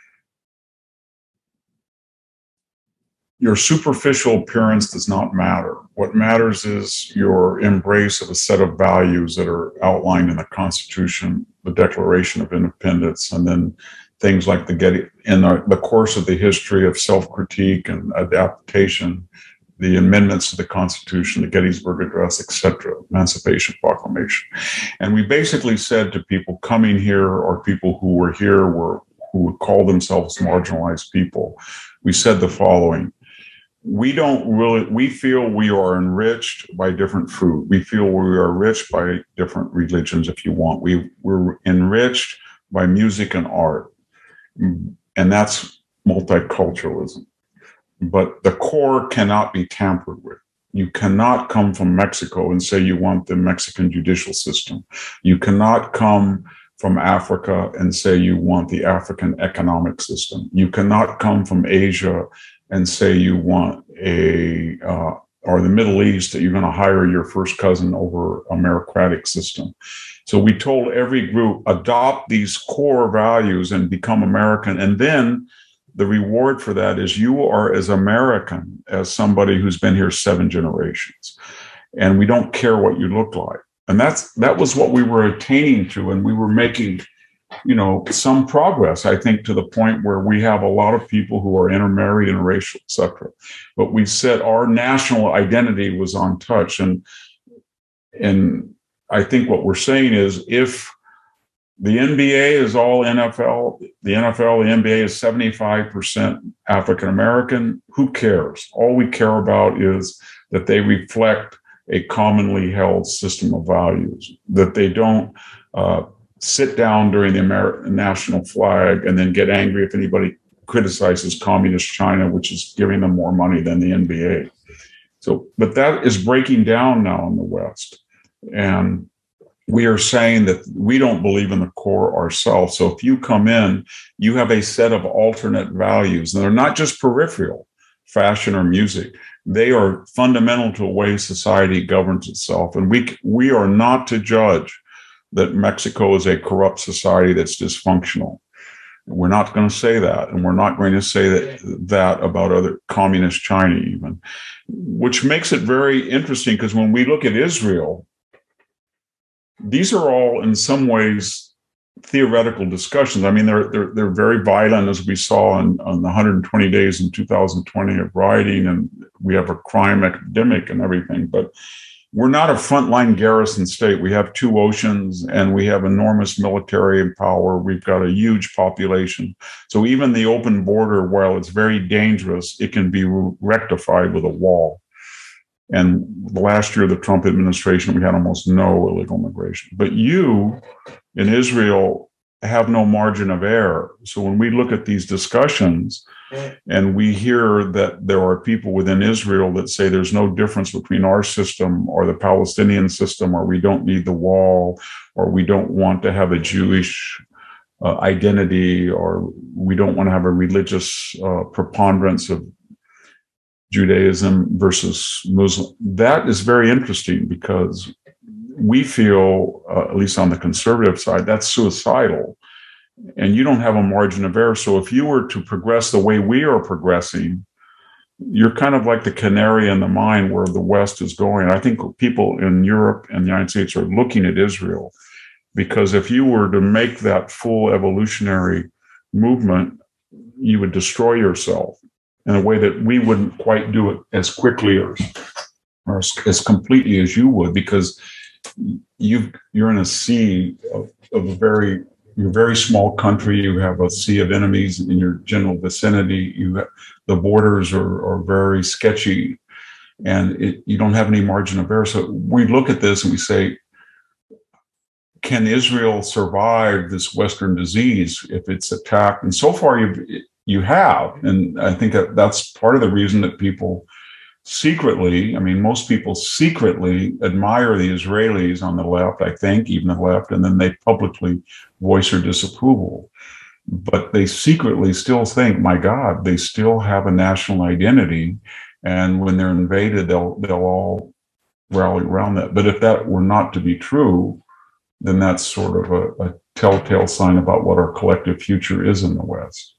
Your superficial appearance does not matter. What matters is your embrace of a set of values that are outlined in the Constitution, the Declaration of Independence, and then things like the Getty, in the, the course of the history of self-critique and adaptation, the amendments to the Constitution, the Gettysburg Address, et cetera, Emancipation Proclamation. And we basically said to people coming here or people who were here were who would call themselves marginalized people, we said the following. We don't really, we feel we are enriched by different food. We feel we are enriched by different religions, if you want. We, we're enriched by music and art. And that's multiculturalism. But the core cannot be tampered with. You cannot come from Mexico and say you want the Mexican judicial system. You cannot come from Africa and say you want the African economic system. You cannot come from Asia and say you want a, uh, or the Middle East, that you're going to hire your first cousin over a meritocratic system. So we told every group, adopt these core values and become American. And then the reward for that is you are as American as somebody who's been here seven generations. And we don't care what you look like. And that's that was what we were attaining to, and we were making, you know, some progress, I think, to the point where we have a lot of people who are intermarried, interracial, et cetera. But we said our national identity was untouched. And, and I think what we're saying is if the N B A is all N F L, the N F L, the N B A is seventy-five percent African-American, who cares? All we care about is that they reflect a commonly held system of values, that they don't uh, sit down during the American national flag and then get angry if anybody criticizes communist China, which is giving them more money than the N B A. So, but that is breaking down now in the West. And we are saying that we don't believe in the core ourselves. So if you come in, you have a set of alternate values, and they're not just peripheral, fashion or music. They are fundamental to the way society governs itself. And we we are not to judge that Mexico is a corrupt society that's dysfunctional. We're not going to say that. And we're not going to say that, that about other communist China even, which makes it very interesting, because when we look at Israel, these are all in some ways theoretical discussions. I mean, they're they're they're very violent, as we saw in, on the one hundred twenty days in two thousand twenty of rioting, and we have a crime epidemic and everything. But we're not a frontline garrison state. We have two oceans and we have enormous military power. We've got a huge population. So even the open border, while it's very dangerous, it can be rectified with a wall. And last year, the Trump administration, we had almost no illegal migration. But you in Israel have no margin of error. So when we look at these discussions and we hear that there are people within Israel that say there's no difference between our system or the Palestinian system, or we don't need the wall, or we don't want to have a Jewish uh, identity, or we don't want to have a religious uh, preponderance of Judaism versus Muslim. That is very interesting because we feel, uh, at least on the conservative side, that's suicidal. And you don't have a margin of error. So if you were to progress the way we are progressing, you're kind of like the canary in the mine where the West is going. I think people in Europe and the United States are looking at Israel, because if you were to make that full evolutionary movement, you would destroy yourself in a way that we wouldn't quite do it as quickly or, or as, as completely as you would, because you've, you're in a sea of, of a very, you're a very small country. You have a sea of enemies in your general vicinity. You have, the borders are, are very sketchy, and it, you don't have any margin of error. So we look at this and we say, can Israel survive this Western disease if it's attacked? And so far, you you have, and I think that that's part of the reason that people secretly, I mean, most people secretly admire the Israelis on the left, I think, even the left, and then they publicly voice their disapproval. But they secretly still think, my God, they still have a national identity, and when they're invaded, they'll they'll all rally around that. But if that were not to be true, then that's sort of a, a telltale sign about what our collective future is in the West.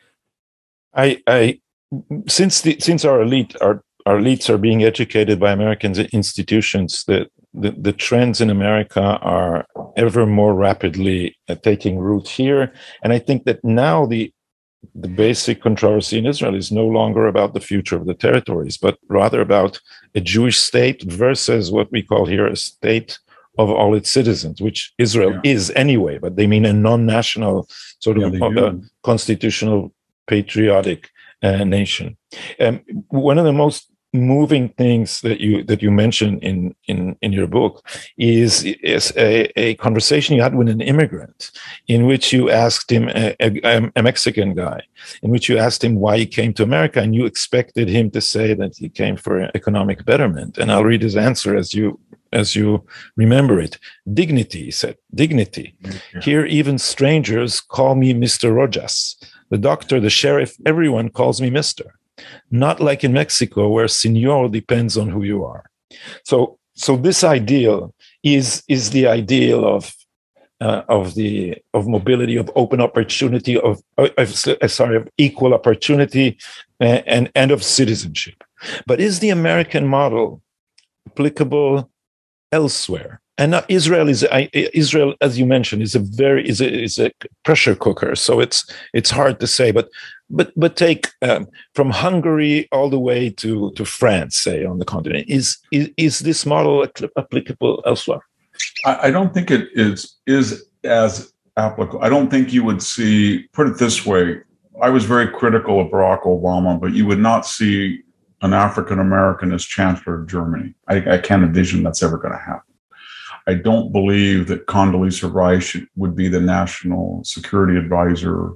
I, I since the since our elite our our elites are being educated by American institutions, the, the the trends in America are ever more rapidly uh, taking root here, and I think that now the the basic controversy in Israel is no longer about the future of the territories, but rather about a Jewish state versus what we call here a state of all its citizens, which Israel yeah. is anyway, but they mean a non-national sort of yeah, uh, constitutional patriotic uh, nation. Um, one of the most moving things that you that you mention in in in your book is is a, a conversation you had with an immigrant, in which you asked him, a, a, a Mexican guy, in which you asked him why he came to America, and you expected him to say that he came for economic betterment. And I'll read his answer as you as you remember it. Dignity, he said. Dignity. Yeah. Here, even strangers call me Mister Rojas. The doctor, the sheriff, everyone calls me Mister. Not like in Mexico, where Señor depends on who you are. So, so this ideal is is the ideal of uh, of the of mobility, of open opportunity, of, of sorry, of equal opportunity, and, and and of citizenship. But is the American model applicable elsewhere? And now Israel is I, Israel, as you mentioned, is a very is a is a pressure cooker. So it's it's hard to say. But but but take um, from Hungary all the way to, to France, say on the continent. Is is is this model applicable elsewhere? I, I don't think it is is as applicable. I don't think you would see. Put it this way: I was very critical of Barack Obama, but you would not see an African American as Chancellor of Germany. I, I can't envision that's ever going to happen. I don't believe that Condoleezza Rice would be the national security advisor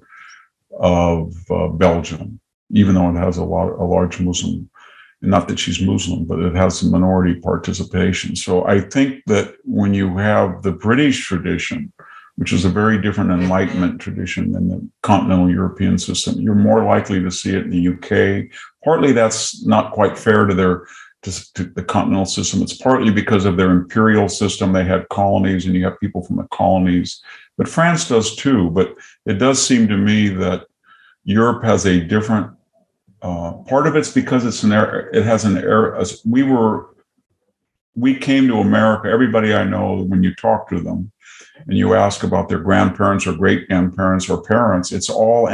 of uh, Belgium, even though it has a lot, a large Muslim, not that she's Muslim, but it has some minority participation. So I think that when you have the British tradition, which is a very different Enlightenment tradition than the continental European system, you're more likely to see it in the U K. Partly that's not quite fair to their To, to the continental system. It's partly because of their imperial system. They had colonies, and you have people from the colonies. But France does too. But it does seem to me that Europe has a different uh, part of it's because it's an era. It has an era. We were, we came to America. Everybody I know, when you talk to them and you ask about their grandparents or great grandparents or parents, it's all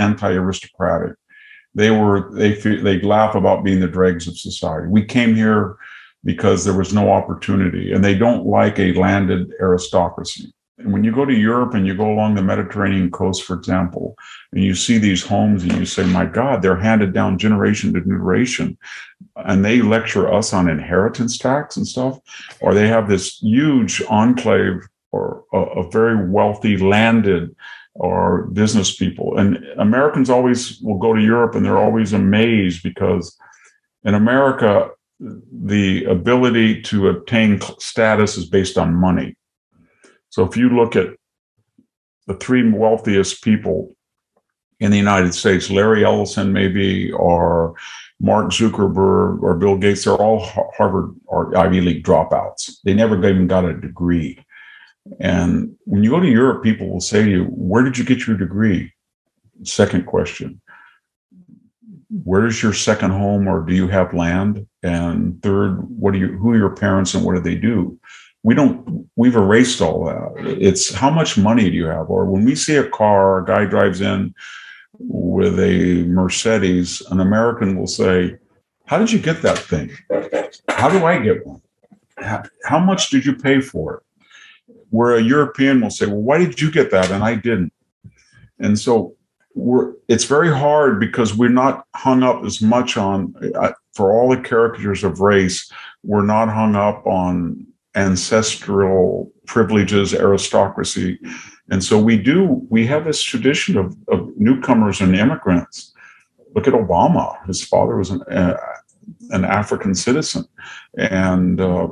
anti-aristocratic. They were, they they laugh about being the dregs of society. We came here because there was no opportunity, and they don't like a landed aristocracy. And when you go to Europe and you go along the Mediterranean coast, for example, and you see these homes and you say, my God, they're handed down generation to generation, and they lecture us on inheritance tax and stuff, or they have this huge enclave or a, a very wealthy landed or business people. And Americans always will go to Europe and they're always amazed because in America, the ability to obtain status is based on money. So if you look at the three wealthiest people in the United States, Larry Ellison maybe, or Mark Zuckerberg or Bill Gates, they're all Harvard or Ivy League dropouts. They never even got a degree. And when you go to Europe, people will say to you, where did you get your degree? Second question, where is your second home, or do you have land? And third, what are you, who are your parents and what do they do? We don't, we've erased all that. It's how much money do you have? Or when we see a car, a guy drives in with a Mercedes, an American will say, how did you get that thing? How do I get one? How, how much did you pay for it? Where a European will say, well, why did you get that and I didn't? And so we're, it's very hard because we're not hung up as much on, uh, for all the caricatures of race, we're not hung up on ancestral privileges, aristocracy. And so we do, we have this tradition of, of newcomers and immigrants. Look at Obama. His father was an, uh, an African citizen. And uh,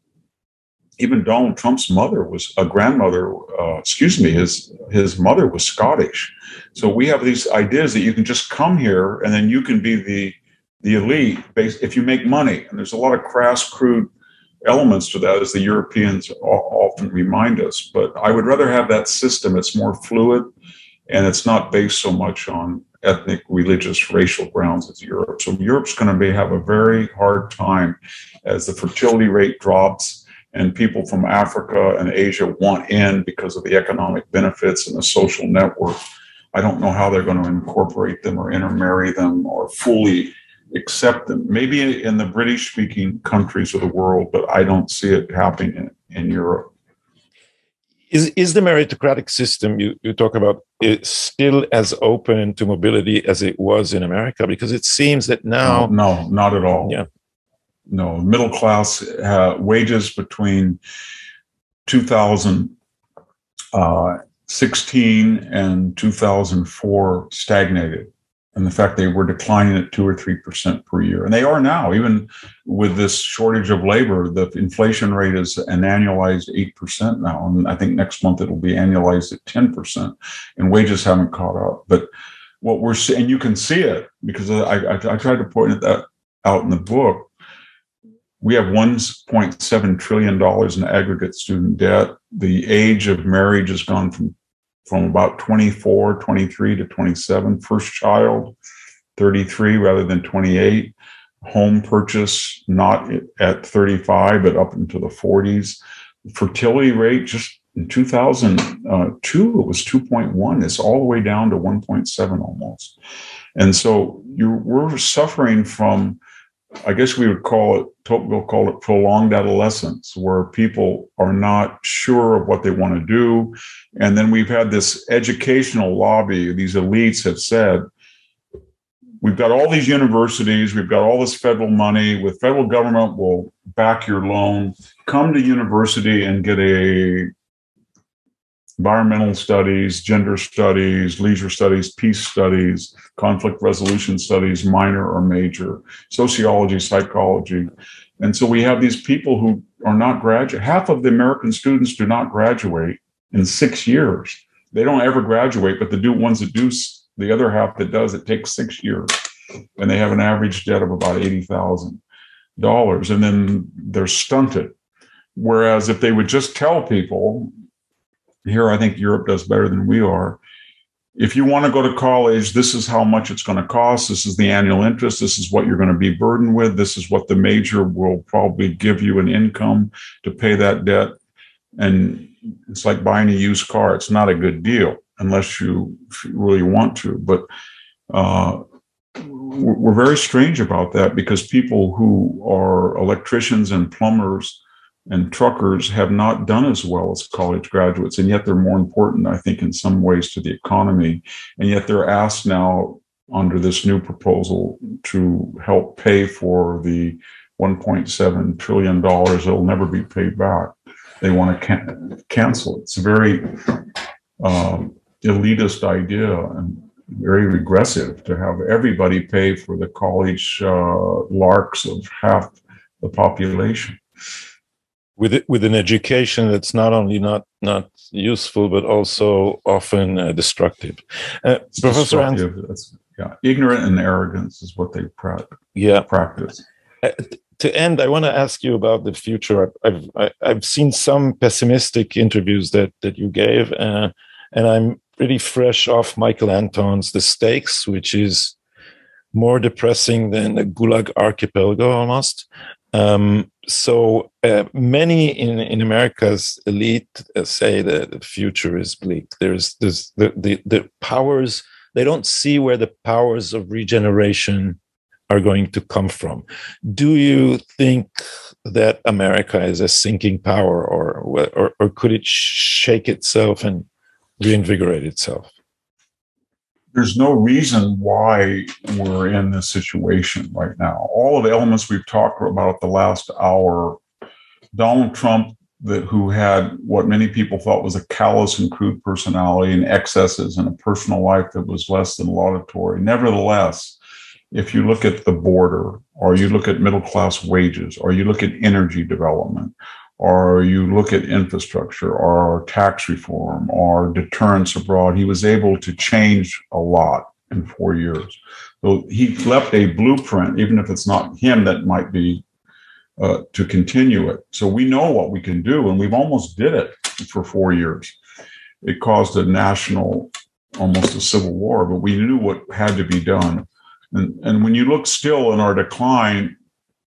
even Donald Trump's mother was a grandmother, uh, excuse me, his, his mother was Scottish. So we have these ideas that you can just come here and then you can be the, the elite based, if you make money. And there's a lot of crass, crude elements to that, as the Europeans often remind us. But I would rather have that system. It's more fluid, and it's not based so much on ethnic, religious, racial grounds as Europe. So Europe's going to be, have a very hard time as the fertility rate drops and people from Africa and Asia want in because of the economic benefits and the social network. I don't know how they're going to incorporate them or intermarry them or fully accept them. Maybe in the British-speaking countries of the world, but I don't see it happening in, in Europe. Is is the meritocratic system you, you talk about is still as open to mobility as it was in America? Because it seems that now... No, no, not at all. Yeah. No, middle class uh, wages between two thousand sixteen and two thousand four stagnated. And the fact they were declining at two or three percent per year. And they are now, even with this shortage of labor, the inflation rate is an annualized eight percent now. And I think next month it'll be annualized at ten percent. And wages haven't caught up. But what we're seeing, and you can see it, because I, I, I tried to point that out in the book. We have one point seven trillion dollars in aggregate student debt. The age of marriage has gone from from about twenty-four, twenty-three to twenty-seven. First child, thirty-three rather than twenty-eight. Home purchase, not at thirty-five, but up into the forties. Fertility rate, just in two thousand two, it was two point one. It's all the way down to one point seven almost. And so you we're suffering from, I guess we would call it, we'll call it prolonged adolescence, where people are not sure of what they want to do. And then we've had this educational lobby. These elites have said, we've got all these universities, we've got all this federal money, with federal government will back your loan. Come to university and get a environmental studies, gender studies, leisure studies, peace studies, conflict resolution studies, minor or major, sociology, psychology. And so we have these people who are not graduate. Half of the American students do not graduate in six years. They don't ever graduate, but the do ones that do, the other half that does, it takes six years. And they have an average debt of about eighty thousand dollars. And then they're stunted. Whereas if they would just tell people, here, I think Europe does better than we are. If you want to go to college, this is how much it's going to cost. This is the annual interest. This is what you're going to be burdened with. This is what the major will probably give you an income to pay that debt. And it's like buying a used car. It's not a good deal unless you really want to. But uh, we're very strange about that, because people who are electricians and plumbers and truckers have not done as well as college graduates, and yet they're more important, I think, in some ways to the economy. And yet they're asked now under this new proposal to help pay for the one point seven trillion dollars that will never be paid back. They want to can- cancel it. It's a very um, elitist idea and very regressive to have everybody pay for the college uh, larks of half the population. With it, with an education that's not only not not useful but also often uh, destructive. Uh, Professor destructive. Hans, yeah, ignorant and arrogance is what they pra- yeah. practice. Uh, to end, I want to ask you about the future. I've I've, I've seen some pessimistic interviews that that you gave, uh, and I'm pretty fresh off Michael Anton's The Stakes, which is more depressing than the Gulag Archipelago almost. Um, so uh, many in, in America's elite uh, say that the future is bleak. There's, there's the, the, the powers, they don't see where the powers of regeneration are going to come from. Do you think that America is a sinking power, or, or, or could it shake itself and reinvigorate itself? There's no reason why we're in this situation right now. All of the elements we've talked about the last hour, Donald Trump, that who had what many people thought was a callous and crude personality and excesses and a personal life that was less than laudatory. Nevertheless, if you look at the border, or you look at middle-class wages, or you look at energy development, or you look at infrastructure, or tax reform, or deterrence abroad, he was able to change a lot in four years. So he left a blueprint, even if it's not him that might be uh, to continue it. So we know what we can do, and we've almost did it for four years. It caused a national, almost a civil war, but we knew what had to be done. And, and when you look still in our decline,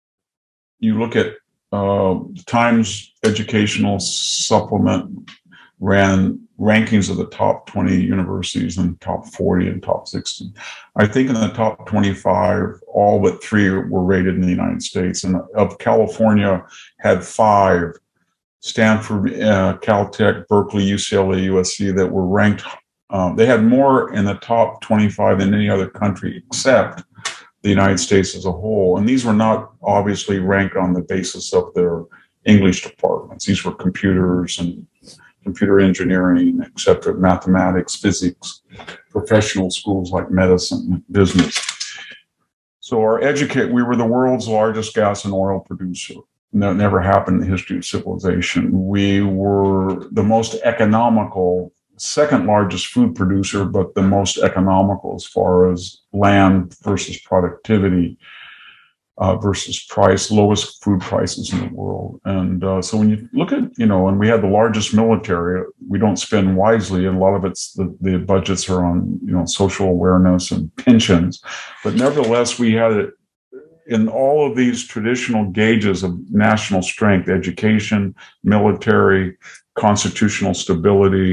you look at Uh, Times Educational Supplement ran rankings of the top twenty universities and top forty and top sixty. I think in the top twenty-five, all but three were rated in the United States. And of California had five, Stanford, uh, Caltech, Berkeley, U C L A, U S C, that were ranked. Um, they had more in the top twenty-five than any other country except the United States as a whole. And these were not obviously ranked on the basis of their English departments. These were computers and computer engineering, et cetera, mathematics, physics, professional schools like medicine, business. So our educate, we were the world's largest gas and oil producer. That never happened in the history of civilization. We were the most economical, second largest food producer, but the most economical as far as land versus productivity uh, versus price, lowest food prices in the world. And uh, so when you look at, you know, and we had the largest military, we don't spend wisely. And a lot of it's the, the budgets are on, you know, social awareness and pensions. But nevertheless, we had it in all of these traditional gauges of national strength: education, military, constitutional stability,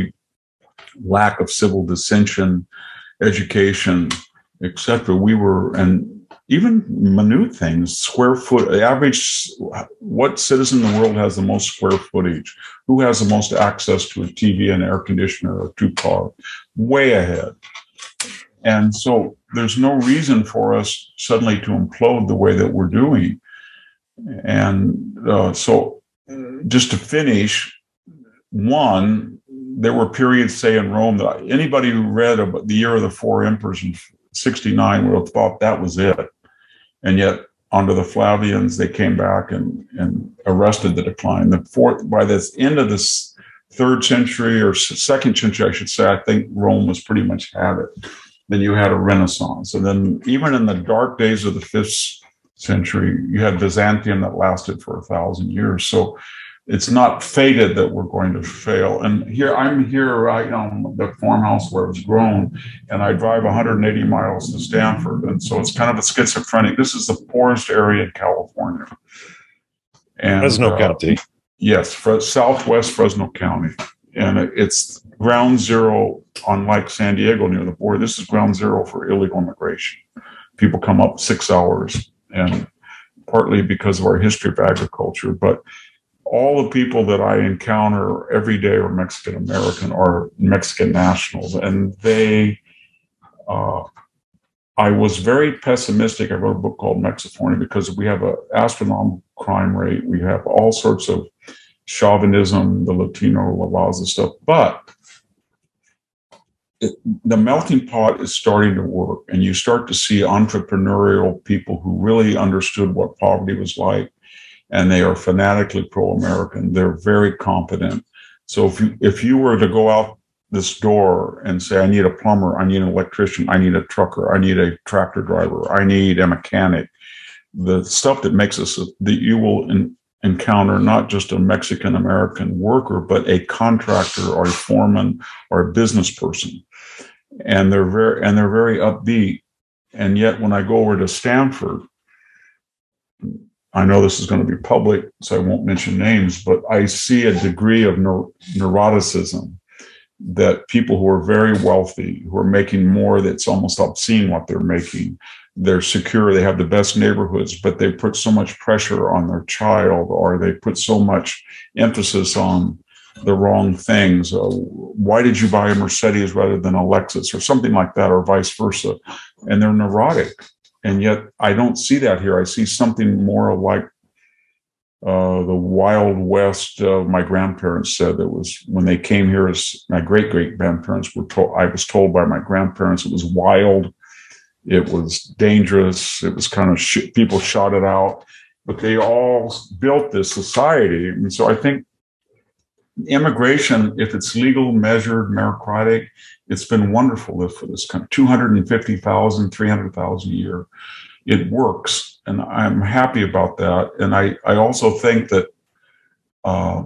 lack of civil dissension, education, et cetera. We were, and even minute things, square foot, average, what citizen in the world has the most square footage? Who has the most access to a T V, an air conditioner, or two cars? Way ahead. And so there's no reason for us suddenly to implode the way that we're doing. And uh, so just to finish, one, there were periods, say, in Rome that anybody who read about the Year of the Four Emperors in sixty-nine would have thought that was it. And yet, under the Flavians, they came back and, and arrested the decline. The fourth, by the end of this third century or second century, I should say, I think Rome was pretty much had it. Then you had a Renaissance. And then even in the dark days of the fifth century, you had Byzantium that lasted for a thousand years. So it's not fated that we're going to fail. And here, I'm here right on the farmhouse where it was grown, and I drive one hundred eighty miles to Stanford. And so it's kind of a schizophrenic. This is the poorest area in California. And, Fresno uh, County. Yes, for Southwest Fresno County. And it's ground zero, unlike San Diego near the border. This is ground zero for illegal immigration. people come up six hours, and partly because of our history of agriculture. But all the people that I encounter every day are Mexican American or Mexican nationals, and they, uh, I was very pessimistic. I wrote a book called Mexifornia because we have an astronomical crime rate. We have all sorts of chauvinism, the Latino, La Raza stuff, but it, the melting pot is starting to work, and you start to see entrepreneurial people who really understood what poverty was like, and they are fanatically pro-American. They're very competent. So if you, if you were to go out this door and say, I need a plumber, I need an electrician, I need a trucker, I need a tractor driver, I need a mechanic, the stuff that makes us, that you will in, encounter not just a Mexican American worker, but a contractor or a foreman or a business person. And they're very, and they're very upbeat. And yet when I go over to Stanford, I know this is going to be public, so I won't mention names, but I see a degree of neur- neuroticism that people who are very wealthy, who are making more, that's almost obscene what they're making. They're secure, they have the best neighborhoods, but they put so much pressure on their child, or they put so much emphasis on the wrong things. Uh, why did you buy a Mercedes rather than a Lexus, or something like that, or vice versa? And they're neurotic. And yet I don't see that here. I see something more like uh, the Wild West. Uh, my grandparents said that was when they came here, as my great great grandparents were told. I was told by my grandparents it was wild, it was dangerous, it was kind of sh- people shot it out, but they all built this society. And so I think immigration, if it's legal, measured, meritocratic, it's been wonderful for this country. two hundred fifty thousand, three hundred thousand a year. It works, and I'm happy about that. And I, I also think that uh,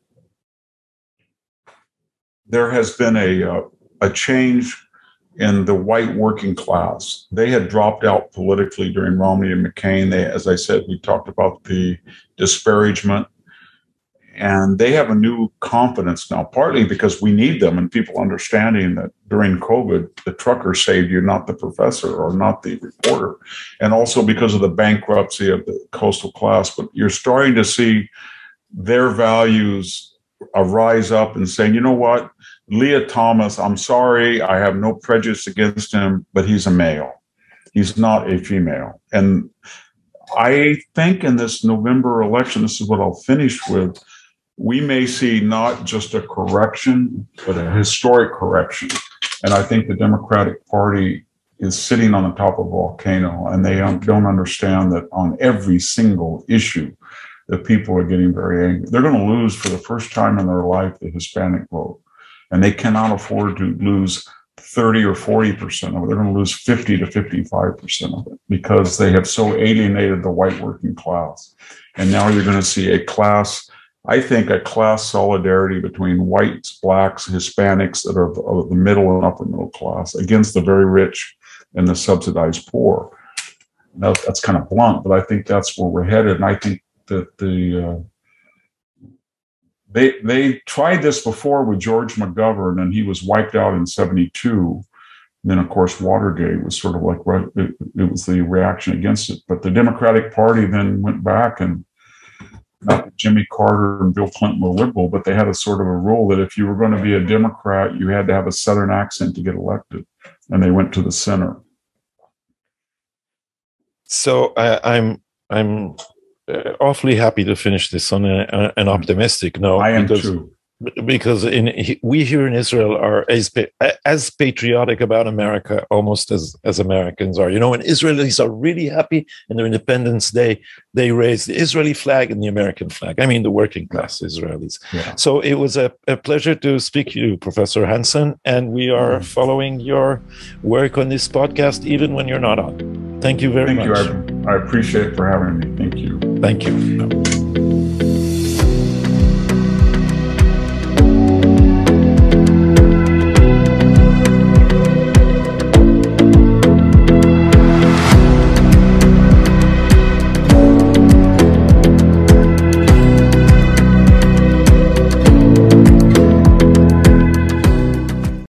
there has been a, uh, a change in the white working class. They had dropped out politically during Romney and McCain. They, as I said, we talked about the disparagement. And they have a new confidence now, partly because we need them and people understanding that during COVID, the trucker saved you, not the professor or not the reporter. And also because of the bankruptcy of the coastal class. But you're starting to see their values uh, rise up and saying, you know what, Leah Thomas, I'm sorry, I have no prejudice against him, but he's a male. He's not a female. And I think in this November election, this is what I'll finish with, we may see not just a correction, but a historic correction. And I think the Democratic Party is sitting on the top of a volcano, and they don't understand that on every single issue, that people are getting very angry. They're going to lose for the first time in their life the Hispanic vote, and they cannot afford to lose thirty or forty percent of it. They're going to lose fifty to fifty-five percent of it because they have so alienated the white working class. And now you're going to see a class, I think a class solidarity between whites, blacks, Hispanics that are of the middle and upper middle class against the very rich and the subsidized poor. Now, that's kind of blunt, but I think that's where we're headed. And I think that the uh, they they tried this before with George McGovern, and he was wiped out in seventy-two. And then, of course, Watergate was sort of like it, it was the reaction against it. But the Democratic Party then went back, and not that Jimmy Carter and Bill Clinton were liberal, but they had a sort of a rule that if you were going to be a Democrat, you had to have a Southern accent to get elected. And they went to the center. So uh, I'm I'm uh, awfully happy to finish this on a, an optimistic note. I am because, too. Because in, we here in Israel are as, as patriotic about America almost as, as Americans are. You know, when Israelis are really happy in their Independence Day, they raise the Israeli flag and the American flag. I mean, the working class Israelis. Yeah. So it was a, a pleasure to speak to you, Professor Hansen, and we are mm. following your work on this podcast, even when you're not on. Thank you very Thank much. Thank you. I, I appreciate it for having me. Thank you. Thank you.